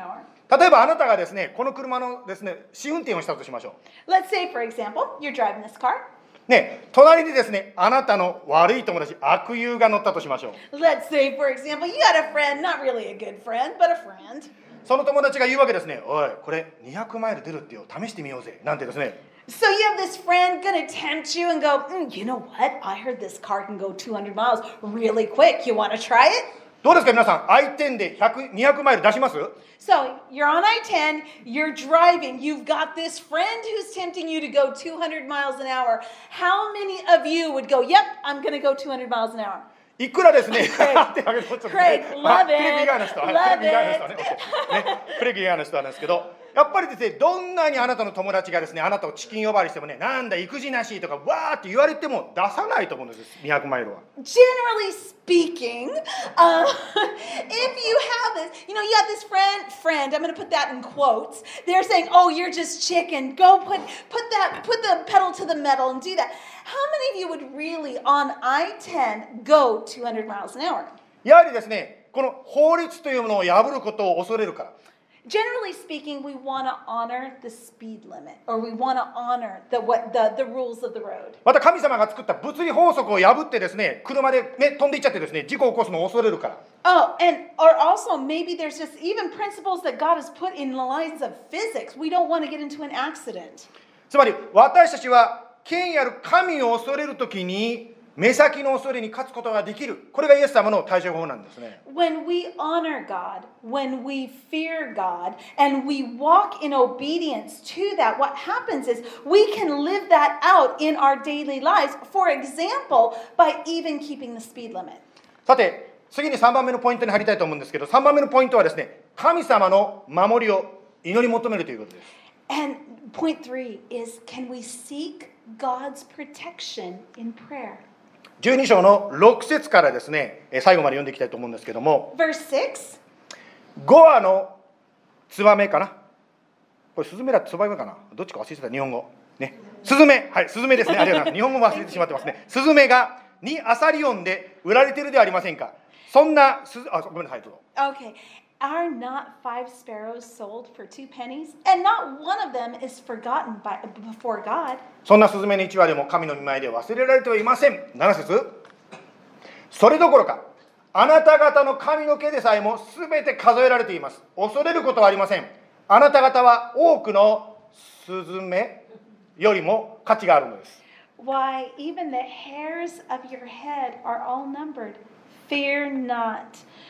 例えばあなたがですね、この車のですね、試運転をしたとしましょ Let's say, for example, you're driving this car. う。ね、隣にですね、あなたの悪い友達、悪友が乗ったとしましょう。 Let's say, for example, you got a friend, not really a good friend, but a friend. その友達が言うわけですね。おい、これにひゃくマイル出るってよ、試してみようぜ。なんてですね。 So you have this friend gonna tempt you and go, mm, you know what? I heard this car can go two hundred miles really quick. You wanna try it? どうですか皆さん、アイテンでひゃく、にひゃくマイル出します？ So you're on I ten, you're driving, you've got this friend who's tempting you to go two hundred miles an hour. How many of you would go, yep, I'm gonna go two hundred miles an hour? いくらですね、 Craig, 手挙げてもちょっと Craig, まあ love テレビ以外の it, 人は、 love テレビ以外の人はね、 it. ね、テレビ以外の人はなんですけど、やっぱりですね、どんなにあなたの友達がですね、あなたをチキン呼ばわりしてもね、なんだ育児なしとかわーって言われても出さないと思うんです、にひゃくマイルは。 Generally speaking, uh, if you have this, you know, you got this friend, friend, I'm going to put that in quotes. They're saying, oh, you're just chicken. Go put, put that, put the pedal to the metal and do that. How many of you would really on I ten go two hundred miles an hour? やはりですね、この法律というものを破ることを恐れるから。 Generally speaking, we want to honor the speed limit, or we want to honor the, what, the, the rules of the road. また神様が作った物理法則を破ってですね、車で、ね、飛んでいっちゃってですね、事故を起こすのを恐れるから。 Oh, and or also maybe there's just even principles that God has put in the lines of physics. We don't want to get into an accident. つまり私たちは権威ある神を恐れるときに目先の恐れに勝つことができる。これがイエス様の対処法なんですね。 When we honor God, when we fear God, and we walk in obedience to that, what happens is we can live that out in our daily lives. For example, by even keeping the speed limit. さて、次にさんばんめのポイントに入りたいと思うんですけど、さんばんめのポイントはですね、神様の守りを祈り求めるということです。 And point three is, can we seek God's protection in prayer? じゅうに章のろく節からですね、最後まで読んでいきたいと思うんですけども、 Verse six. ご羽のツバメかな、これスズメだツバメかな、どっちか忘れてた、日本語ね、スズメ、はいスズメですね、ありがとうございます。日本語も忘れてしまってますね。スズメがにアサリオンで売られているではありませんか。そんなスズあごめんなさいどうぞ。 Okay. Are not five sparrows sold for two pennies? And not one of them is forgotten by, before God. そんなスズメの一羽でも神の御前で忘れられてはいません。なな節。それどころかあなた方の髪の毛でさえもすべて数えられています。恐れることはありません。あなた方は多くのスズメよりも価値があるのです。 Why, even the hairs of your head are all numbered. Fear not.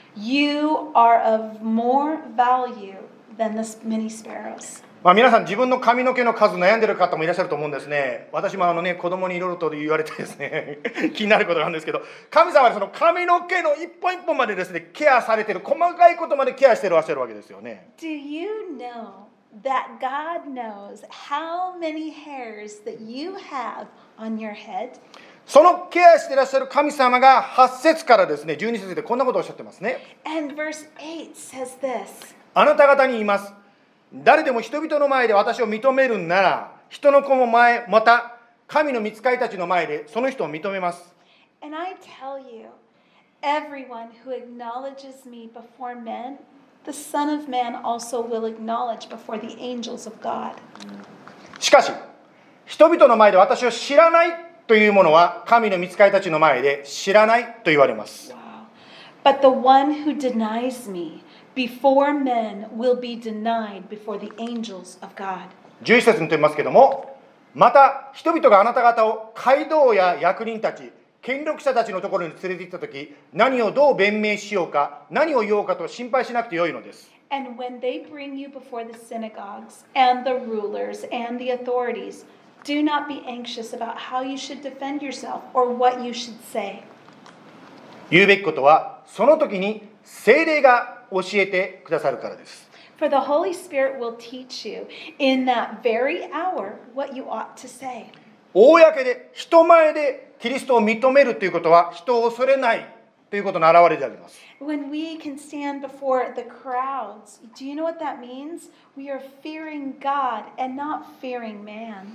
You are of more value than the many sparrows. まあ皆さん自分の髪の毛の数悩んでる方もいらっしゃると思うんですね。私もあのね子供にいろいろと言われてですね気になることなんですけど、神様はその髪の毛の一本一本までですねケアされてる、細かいことまでケアしてらっしゃるわけですよね。 Do you know that God knows how many hairs that you have on your head? そのケアしてらっしゃる神様がはち節からですねじゅうに節でこんなことをおっしゃってますね。 And verse eight says this. あなた方に言います。誰でも人々の前で私を認めるなら、人の子も前また神の御使いたちの前でその人を認めます。 And I tell you, everyone who acknowledges me before men, the Son of Man also will acknowledge before the angels of God. しかし人々の前で私を知らないというものは神の御使いたちの前で知らないと言われます。 Wow. But the one who denies me before men will be denied before the angels of God. じゅういち節にと言いますけども、また人々があなた方を街道や役人たち、権力者たちのところに連れて行ったとき、何をどう弁明しようか、何を言おうかと心配しなくてよいのです。 And when they bring you before the synagogues and the rulers and the authorities, do not be anxious about how you should defend yourself or what you should say. 言うべきことはその時に聖霊が教えてくださるからです。 For the Holy Spirit will teach you in that very hour what you ought to say. 公で人前でキリストを認めるということは人を恐れないということの表れであります。 When we can stand before the crowds, do you know what that means? We are fearing God and not fearing man.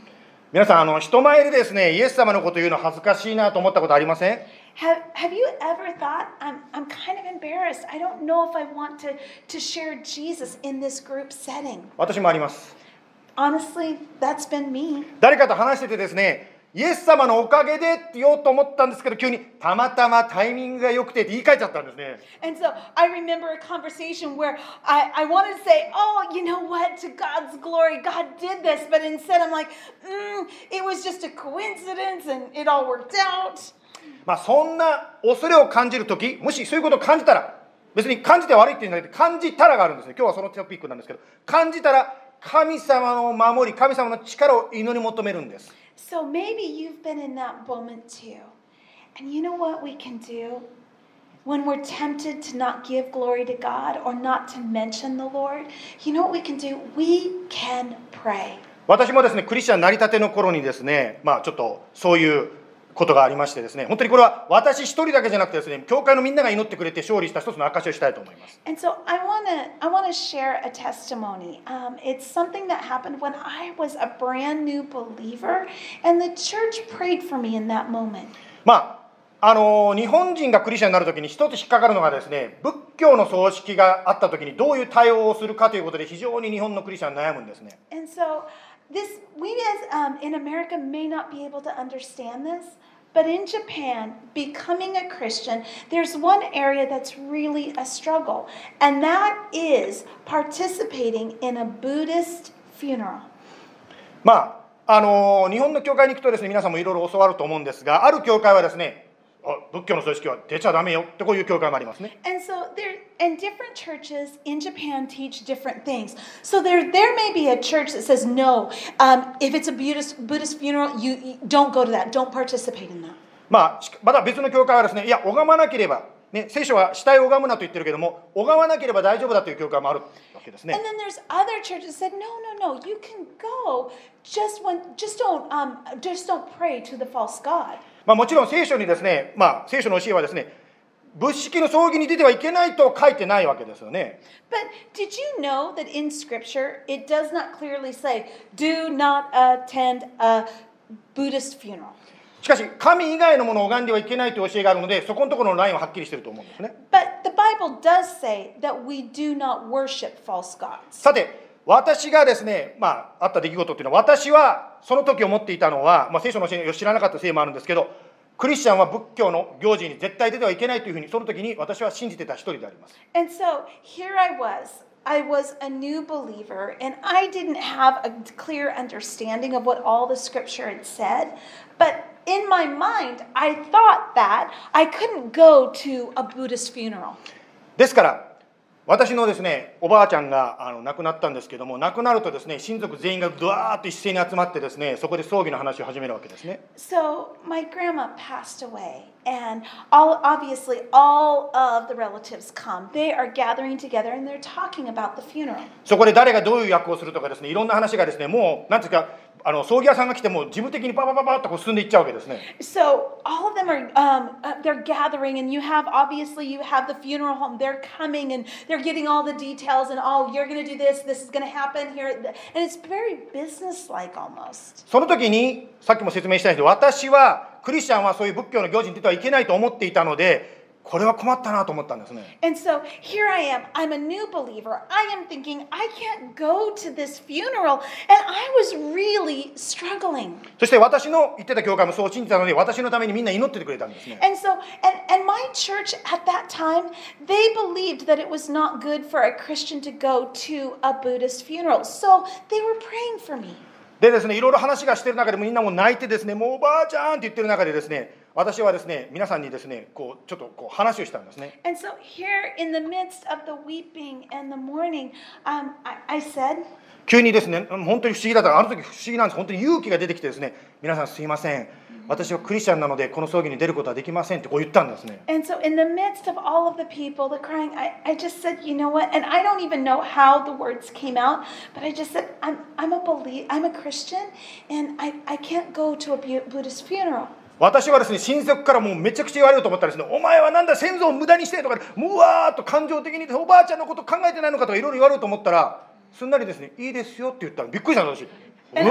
皆さん、あの人前でですね、イエス様のこと言うの恥ずかしいなと思ったことありません？ Have, have you ever thought, I'm, I'm kind of embarrassed. I don't know if I want to, to share Jesus in this group setting. 私もあります。 Honestly, that's been me. 誰かと話しててですね、イエス様のおかげでって言おうと思ったんですけど、急にたまたまタイミングが良くてって言い換えちゃったんですね。 And so I remember a conversation where I, I wanted to say, oh, you know what, to God's glory, God did this. But instead I'm like, mm, it was just a coincidence and it all worked out. まあそんな恐れを感じるとき、もしそういうことを感じたら、別に感じて悪いって言うんじゃなくて、感じたらがあるんですね。今日はそのトピックなんですけど、感じたら神様の守り、神様の力を祈り求めるんです。 So maybe you've been in that moment too. And you know what we can do? When we're tempted to not give glory to God or not to mention the Lord, you know what we can do? We can pray. 私もですね、クリスチャンなりたての頃にですね、まあちょっとそういうことがありましてですね、本当にこれは私一人だけじゃなくてですね、教会のみんなが祈ってくれて勝利した一つの証しをしたいと思います。 And so I want to I want to share a testimony. Um, it's something that happened when I was a brand new believer, and the church prayed for me in that moment. まああの日本人がクリスチャンになるときに一つ引っかかるのがですね、仏教の葬式があったときにどういう対応をするかということで非常に日本のクリスチャン悩むんですね。 And so this we as um, in America may not be able to understand this. But in Japan, becoming a Christian, there's one area that's really a struggle, and that is participating in a Buddhist funeral. まああの日本の教会に行くとですね、皆さんもいろいろ教わると思うんですが、ある教会はですね、仏教の葬式は出ちゃダメよってこういう教会もありますね。 And so there, and different churches in Japan teach different things. So there, there may be a church that says no. Um, if it's a Buddhist Buddhist funeral, you, you don't go to that. Don't participate in that. まあまた別の教会はですね、いや拝まなければね、聖書は死体を拝むなと言ってるけども、拝まなければ大丈夫だという教会もあるわけですね。 And then there's other churches that said no, no, no. You can go. Just when, just don't, um, just don't pray to the false god. まあもちろん聖書にですね、まあ聖書の教えはですね、仏式の葬儀に出てはいけないと書いてないわけですよね。 But did you know that in Scripture it does not clearly say, do not attend a Buddhist funeral? しかし神以外のものを拝んではいけないという教えがあるので、そこのところのラインははっきりしていると思うんですね。 But the Bible does say that we do not worship false gods. さて私がですね、まああった出来事っていうのは、私はその時思っていたのは、まあ、聖書の教えを知らなかったせいもあるんですけど、クリスチャンは仏教の行事に絶対出てはいけないというふうにその時に私は信じてた一人であります。 And so here I was. I was a new believer, and I didn't have a clear understanding of what all the Scripture had said. But in my mind, I thought that I couldn't go to a Buddhist funeral. ですから私のですね、おばあちゃんがあの亡くなったんですけども、亡くなるとですね、親族全員がドワーッと一斉に集まってですね、そこで葬儀の話を始めるわけですね。 So my grandma passed away, and all obviously all of the relatives come. They are gathering together and they're talking about the funeral. そこで誰がどういう役をするとかですね、いろんな話がですね、もうなんていうか、あの葬儀屋さんが来ても事務的にパパパパッとこう進んでいっちゃうわけですね。 So all of them are um, uh, they're gathering, and you have obviously you have the funeral home. They're coming and they're getting all the details, and oh, you're going to do this. This is going to happen here, and it's very business-like almost. その時にさっきも説明したんですけど、私はクリスチャンはそういう仏教の行事に出てはいけないと思っていたので、これは困ったなと思ったんですね。 And so here I am. I'm a new believer. I am thinking I can't go to this funeral, and I was really struggling. そして私の言ってた教会もそう信じたので、私のためにみんな祈っててくれたんですね。 And so, and, and my church at that time, they believed that it was not good for a Christian to go to a Buddhist funeral. So they were praying for me. でですね、いろいろ話がしてる中でみんなも泣いてですね、もうおばあちゃんって言ってる中でですね、私はですね、皆さんにですね、こうちょっとこう話をしたんですね。 And so here in the midst of the weeping and the mourning, um, I, I said, 急にですね、本当に不思議だった。あの時不思議なんです。本当に勇気が出てきてですね、皆さんすいません。私はクリスチャンなのでこの葬儀に出ることはできませんってこう言ったんですね。 and so in the midst of all of the people, the crying, I, I just said, you know what? And I don't even know how the words came out, but I just said, I'm, I'm a belie- I'm a Christian, and I, I can't go to a Bu- Buddhist funeral. 私はですね、親族からもうめちゃくちゃ言われると思ったらですね、お前はなんだ先祖を無駄にしてとか、もうわーっと感情的におばあちゃんのこと考えてないのかとかいろいろ言われると思ったら、すんなりですね、いいですよって言ったらびっくりしたんです私。うわ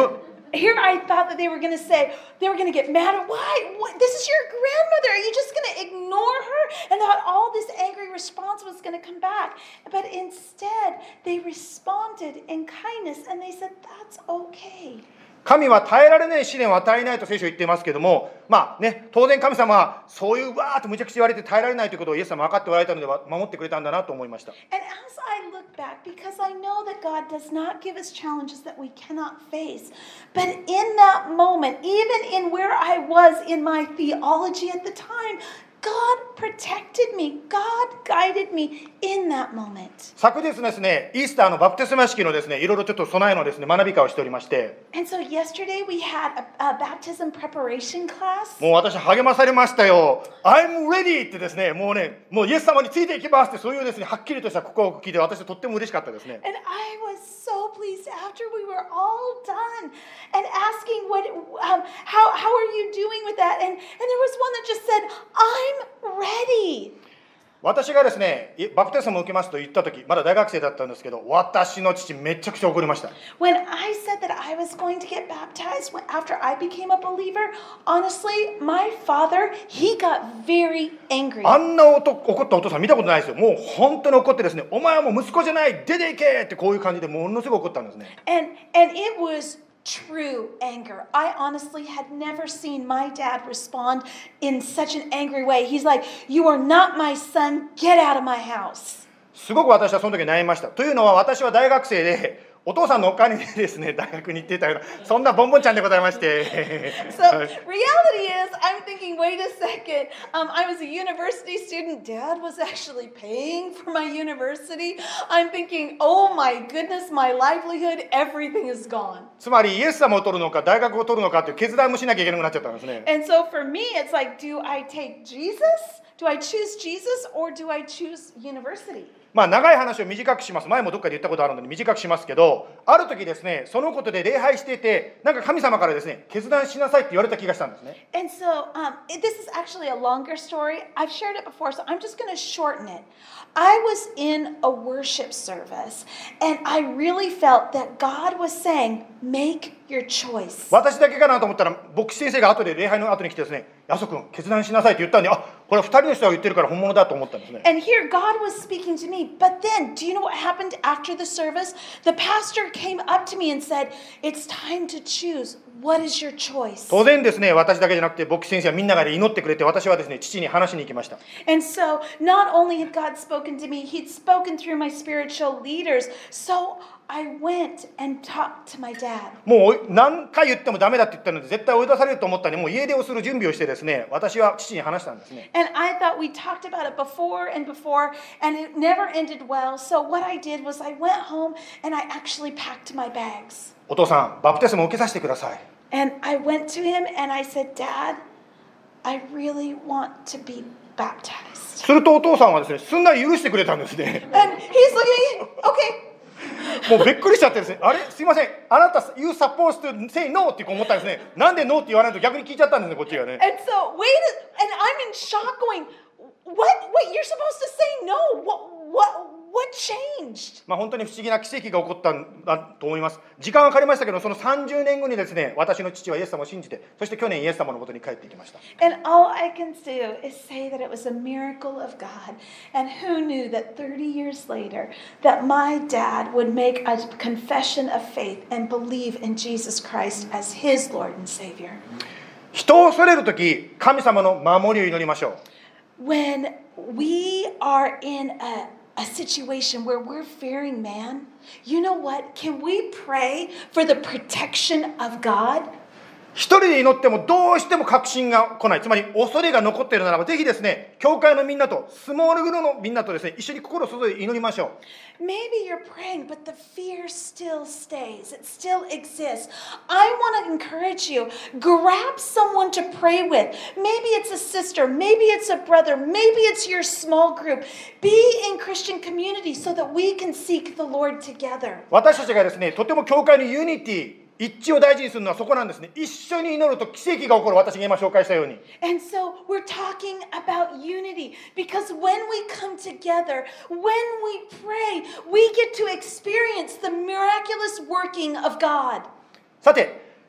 here I thought that they were going to say, they were going to get mad at, why? What? This is your grandmother. Are you just going to ignore her? And that all this angry response was going to come back. But instead, they responded in kindness and they said, that's okay. 神は耐えられない試練を与えないと聖書は言っていますけども、まあね、当然神様はそういうわーっとむちゃくちゃ言われて耐えられないということをイエス様は分かっておられたので守ってくれたんだなと思いました。 And as I look back, because I know that God does not give us challenges that we cannot face, but in that moment, even in where I was in my theology at the time, God protected me. God guided me in that moment. 昨日ですね、イースターのバプテスマ式のですね、いろいろちょっと備えのですね、学び会をしておりまして、 And so yesterday we had a, a baptism preparation class. もう私励まされましたよ。I'm ready ってですね、もうね、もうイエス様についていきますってそういうですね、はっきりとした告白を聞いて私はとっても嬉しかったですね。 And I was so pleased after we were all done and asking what, um, how, how are you doing with that? And, and there was one that just said, I'm ready. 私がですね、バプテスマを受けますと言ったとき、まだ大学生だったんですけど、私の父めちゃくちゃ怒りました。 When I said that I was going to get baptized after I became a believer, honestly, my father, he got very angry. あんな怒ったお父さん見たことないですよ。もう本当に怒ってですね、お前はもう息子じゃない、出ていけってこういう感じでものすごい怒ったんですね。 And, and it was true anger. I honestly had never seen my dad respond in such an angry way. He's like, you are not my son, get out of my house. すごく私はその時悩みました。というのは私は大学生でお父さんのお金でですね、大学に行っていたようなそんなボンボンちゃんでございまして。 So reality is, I'm thinking, wait a second. Um, I was a university student. Dad was actually paying for my university. I'm thinking, oh my goodness, my livelihood, everything is gone. つまりイエス様を取るのか大学を取るのかという決断もしなきゃいけなくなっちゃったんですね。 And so for me, it's like, do I take Jesus? Do I choose Jesus or do I choose university? まあ長い話を短くします。前もどっかで言ったことあるので短くしますけど、ある時ですね、そのことで礼拝していて、なんか神様からですね、決断しなさいって言われた気がしたんですね。 And so um, this is actually a longer story. I've shared it before, so I'm just going to shorten it. I was in a worship service, and I really felt that God was saying, make your choice. 私だけかなと思ったら、牧師先生が後で礼拝の後に来てですね、ヤソ君決断しなさいって言ったんで、あ、これはふたりの人が言ってるから本物だと思ったんですね。 And here God was speaking to me. But then, do you know what happened after the service? The pastor came up to me and said, it's time to choose. What is your choice? 当然ですね、私だけじゃなくて牧師先生はみんなが祈ってくれて、私はですね、父に話しに行きました。 And so, not only had God spoken to me, He'd spoken through my spiritual leaders. So I went and talked to my dad. もう何回言ってもダメだって言ったので、絶対追い出されると思ったので、もう家出をする準備をしてですね、私は父に話したんですね。 And I thought we talked about it before and before, and it never ended well. So what I did was I went home and I actually packed my bags. お父さん、バプテスマを受けさせてください。 And I went to him and I said, Dad, I really want to be baptized. するとお父さんはですね、すんなり許してくれたんですね。 And he's looking, okay. もうびっくりしちゃってですね、あれすいません、あなた You supposed to say no って思ったんですね。なんで no って言わないと逆に聞いちゃったんですね、こっちがね。 And so, wait, and I'm in shock going, what? Wait, you're supposed to say no. What? What? What changed? まあ本当に不思議な奇跡が起こったんだと思います。時間がかかりましたけど、そのさんじゅうねんごにですね、私の父はイエス様を信じて、そして去年イエス様の元に帰っていきました。 And all I can do is say that it was a miracle of God. And who knew that thirty years later that my dad would make a confession of faith and believe in Jesus Christ as his Lord and Savior. 人を恐れるとき、神様の守りを祈りましょう。 When we are in a a situation where we're fearing man, you know what? Can we pray for the protection of God? 一人で祈ってもどうしても確信が来ない。つまり恐れが残っているならば、ぜひですね、教会のみんなと、スモールグループのみんなとですね、一緒に心を注いで祈りましょう。 Maybe you're praying, but the fear still stays. It still exists. I want to encourage you. Grab someone to pray with. Maybe it's a sister. Maybe it's a brother. Maybe it's your small group. Be in Christian community so that we can seek the Lord together. 私たちがですね、とても教会のユニティ、一致を大事にするのはそこなんですね。一緒に祈ると奇跡が起こる。私が今紹介したように。 And so we're talking about unity because when we come together, when we pray, we get to experience the miraculous working of God. さて、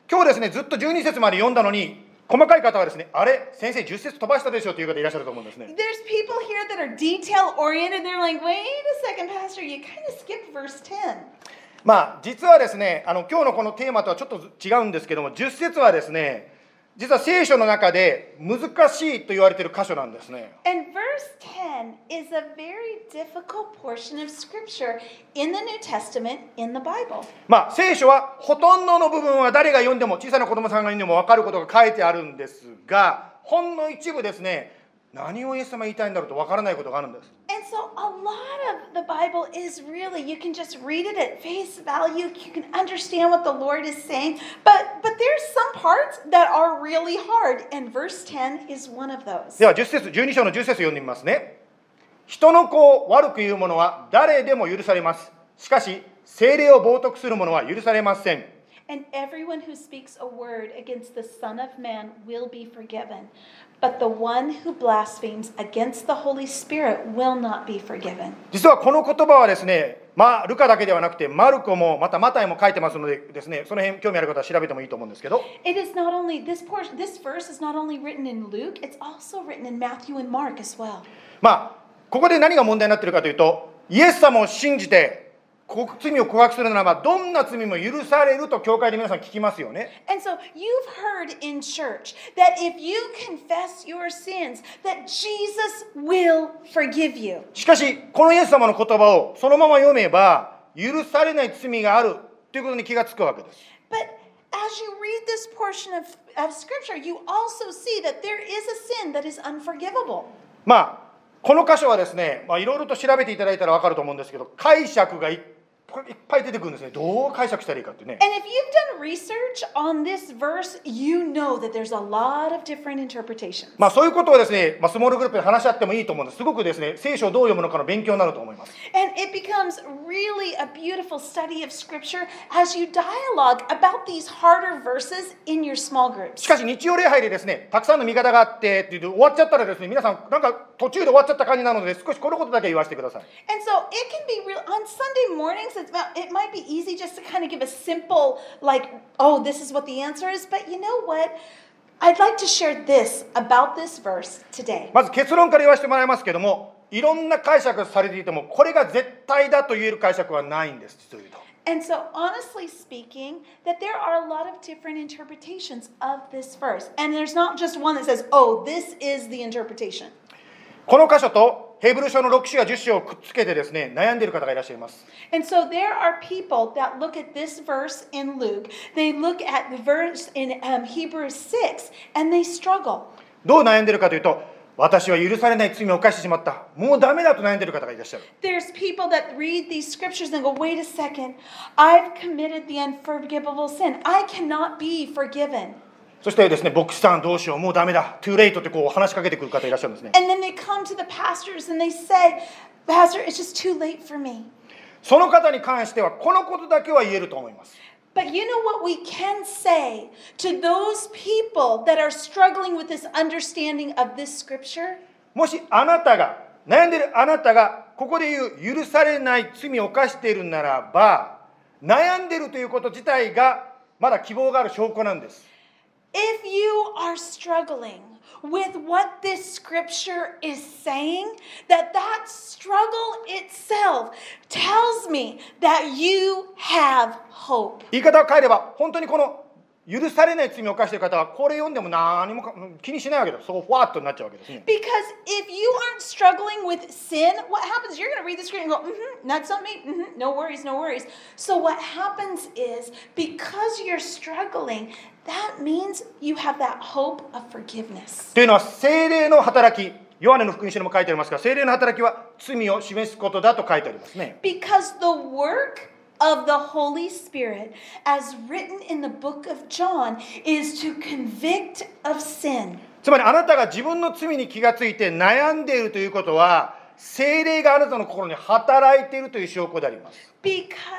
今日ですね、ずっとじゅうに節まで読んだのに、細かい方はですね、あれ、先生じゅっ節飛ばしたでしょという方いらっしゃると思うんですね。 There's people here that are detail oriented. They're like, wait a second, Pastor, you kind of skipped verse ten. まあ、実はですね、あの今日のこのテーマとはちょっと違うんですけども、じゅっ節はですね、実は聖書の中で難しいと言われている箇所なんですね。 And verse ten is a very difficult portion of scripture in the New Testament, in the Bible. まあ、聖書はほとんどの部分は誰が読んでも、小さな子供さんが読んでも分かることが書いてあるんですが、ほんの一部ですね、何をイエス様言いたいんだろうと分からないことがあるんです。 And so a lot of the Bible is really, you can just read it at face value, you can understand what the Lord is saying, but, but there's some parts that are really hard, and verse ten is one of those. ではじゅっ節、じゅうに章のじゅっ節読んでみますね。人の子を悪く言う者は誰でも許されます。しかし、聖霊を冒涜する者は許されません。 And everyone who speaks a word against the Son of Man will be forgiven. But the one who blasphemes against the Holy Spirit will not be forgiven. 実はこの言葉はですね、まあ、ルカだけではなくて、マルコもまたマタイも書いてますのでですね、その辺興味ある方は調べてもいいと思うんですけど、 It is not only, this portion, this verse is not only written in Luke, it's also written in Matthew and Mark as well. まあ、ここで何が問題になっているかというと、イエス様を信じて罪を告白するならば、どんな罪も許されると教会で皆さん聞きますよね。 And so you've heard in church that if you confess your sins, that Jesus will forgive you. しかし、このイエス様の言葉をそのまま読めば、許されない罪があるということに気がつくわけです。 But as you read this portion of, of Scripture, you also see that there is a sin that is unforgivable. まあ、この箇所はですね、まあ、いろいろと調べていただいたら分かると思うんですけど、解釈がいっいっぱい出てくるんですね。どう解釈したらいいかってね。 And if you've done research on this verse, you know that there's a lot of different interpretations. まあそういうことをですね、まあ、スモールグループで話し合ってもいいと思うんです。すごくですね、聖書をどう読むのかの勉強になると思います。 And it becomes really a beautiful study of Scripture as you dialogue about these harder verses in your small groups. しかし日曜礼拝でですね、たくさんの見方があってって終わっちゃったらですね、皆さんなんか途中で終わっちゃった感じなので、少しこのことだけ言わせてください。 And so it can be real on Sunday mornings. It's about, it might be easy just to kind of give a simple, like, oh, this is what the answer is. But you know what? I'd like to share this about this verse today. まず結論から言わせてもらいますけども、いろんな解釈されていても、これが絶対だと言える解釈はないんです、実を言うと。 And so, honestly speaking, that there are a lot of different interpretations of this verse. And there's not just one that says, oh, this is the interpretation. この箇所とヘブル書のろく章やじゅっ章をくっつけてですね、悩んでいる方がいらっしゃいます。 And so there are people that look at this verse in Luke, they look at the verse in um, Hebrews six, and they struggle. どう悩んでいるかというと、私は許されない罪を犯してしまった。もうダメだと悩んでいる方がいらっしゃる。 There's people that read these scriptures and go, wait a second, I've committed the unforgivable sin. I cannot be forgiven. そしてですね、牧師さんどうしよう、もうダメだ、トゥーレイトってこう話しかけてくる方いらっしゃるんですね。 And then they come to the pastors and they say, Pastor, it's just too late for me. その方に関してはこのことだけは言えると思います。 But you know what we can say to those people that are struggling with this understanding of this scripture? もしあなたが悩んでいるあなたがここで言う許されない罪を犯しているならば、悩んでいるということ自体がまだ希望がある証拠なんです。 If you are struggling with what this scripture is saying, that that struggle itself tells me that you have hope. 言い方を変えれば、本当にこの許されない罪を犯している方はこれ読んでも何も気にしないわけだ。そうふわっとなっちゃうわけですね。 Because if you aren't struggling with sin, what happens? You're going to read the scripture and go, mm-hmm, that's not me. Mm-hmm, no worries, no worries. So what happens is, because you're struggling, that means you have that hope of forgiveness. というのは聖霊の働き、ヨハネの福音書にも書いてありますが、聖霊の働きは罪を示すことだと書いてありますね。 Because the work of the Holy Spirit, as written in the book of John, is to convict of sin. つまりあなたが自分の罪に気がついて悩んでいるということは、聖霊があなたの心に働いているという証拠であります。 Because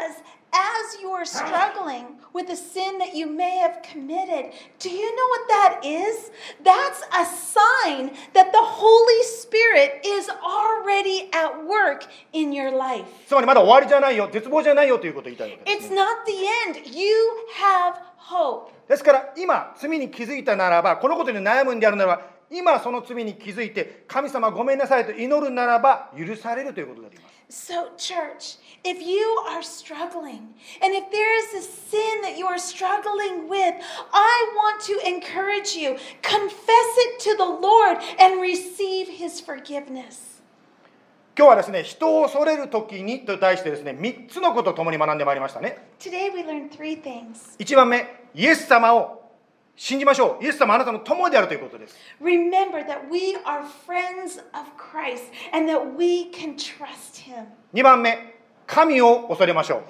as you're struggling with a sin that you may have committed, do you know what that is? That's a sign that the Holy Spirit is already at work in your life. つまりまだ終わりじゃないよ、絶望じゃないよということを言いたいわけです It's ね。 not the end. You have hope. ですから今罪に気づいたならば、このことに悩むんであるならば、今その罪に気づいて神様ごめんなさいと祈るならば許されるということであります。 So, church, if you are struggling, and if there is a sin that you are struggling with, I want to encourage you, confess it to the Lord and receive His forgiveness. 今日はですね、人を恐れるときにと題してですね、みっつのことを共に学んでまいりましたね。 Today we learned three things. いちばんめ、イエス様を信じましょう。イエス様あなたの友であるということです。 Remember that we are friends of Christ and that we can trust Him. にばんめ、神を恐れましょう。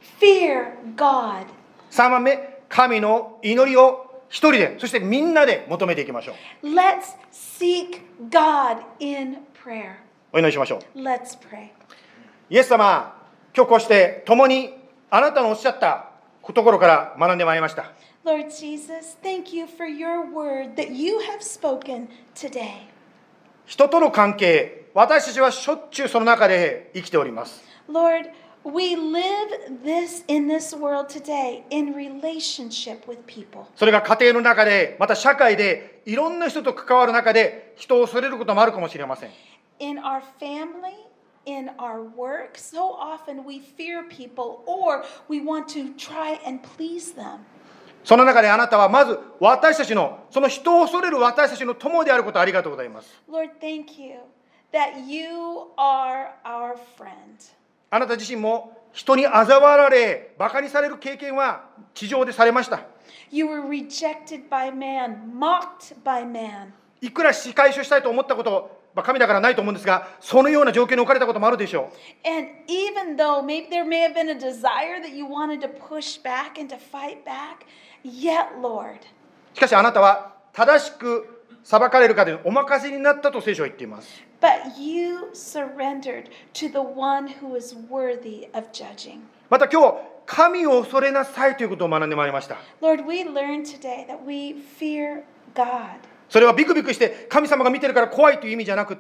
Fear God. さんばんめ、神の祈りを一人で、そしてみんなで求めていきましょう。 Let's seek God in prayer. お祈りしましょう。 Let's pray. イエス様、今日こうして共にあなたのおっしゃったところから学んでまいりました。 Lord Jesus, thank you for your word that you have spoken today. 人との関係、私たちはしょっちゅうその中で生きております。 Lord, we live this in this world today in relationship with people. それが家庭の中で、また社会で、いろんな人と関わる中で、人を恐れることもあるかもしれません。 In our family, in our work, so often we fear people or we want to try and please them. その中であなたはまず私たちの、その人を恐れる私たちの友であることをありがとうございます。 Lord, thank you that you are our friend. あなた自身も人に嘲笑われ、馬鹿にされる経験は地上でされました。 You were rejected by man, mocked by man. いくら仕返しをしたいと思ったこと、まあ、神だからないと思うんですが、そのような状況に置かれたこともあるでしょう。 And even though maybe there may have been a desire that you wanted to push back and to fight back, yet, Lord, しかしあなたは正しく裁かれるかでお任せになったと聖書は言っています。 but you surrendered to the one who is worthy of judging. また今日、神を恐れなさいということを学んでまいりました。 Lord, we learned today that we fear God. それはビクビクして神様が見てるから怖いという意味じゃなくって、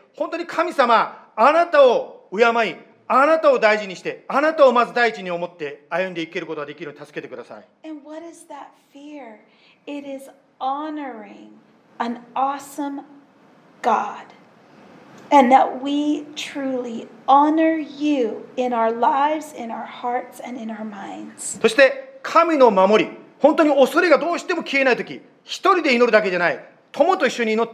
本当に神様、あなたを敬い、あなたを大事にして、あなたをまず第一に思って歩んでいけることができるように助けてください。 And what is that fear? It is honoring an awesome God. And that we truly honor you in our lives, in our hearts, and in our minds. そして神の守り、本当に恐れがどうしても消えないとき、一人で祈るだけじゃない、友と一緒に祈って、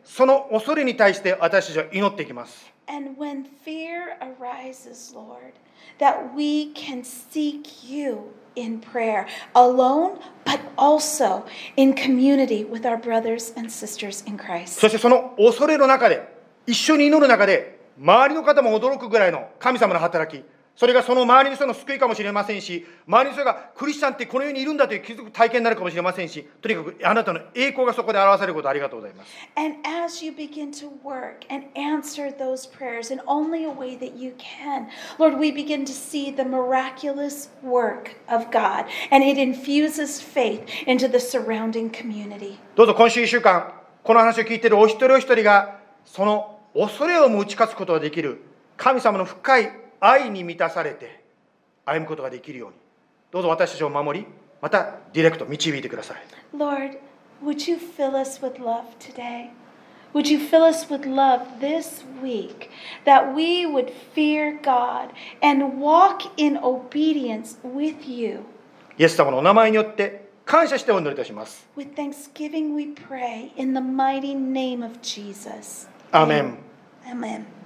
その恐れに対して私たちは祈っていきます。 And when fear arises, Lord, that we can seek you in prayer, alone, but also in community with our brothers and sisters in Christ. そしてその恐れの中で、一緒に祈る中で、周りの方も驚くぐらいの神様の働き、それがその周りの人の救いかもしれませんし、周りの人がクリスチャンってこの世にいるんだという気づく体験になるかもしれませんし、とにかくあなたの栄光がそこで表されることをありがとうございます。 And as you begin to work and answer those prayers in only a way that you can, Lord, we begin to see the miraculous work of God, and it infuses faith into the surrounding community. どうぞ今週いっしゅうかん、この話を聞いているお一人お一人が、その恐れをも打ち勝つことができる神様の深い愛に満たされて歩むことができるように、どうぞ私たちを守り、またディレクト導いてください。 Lord, would you fill us with love today? Would you fill us with love this week, that we would fear God and walk in obedience with you? イエス様のお名前によって感謝してお祈りいたします。 With thanksgiving we pray in the mighty name of Jesus. アーメン。 Amen.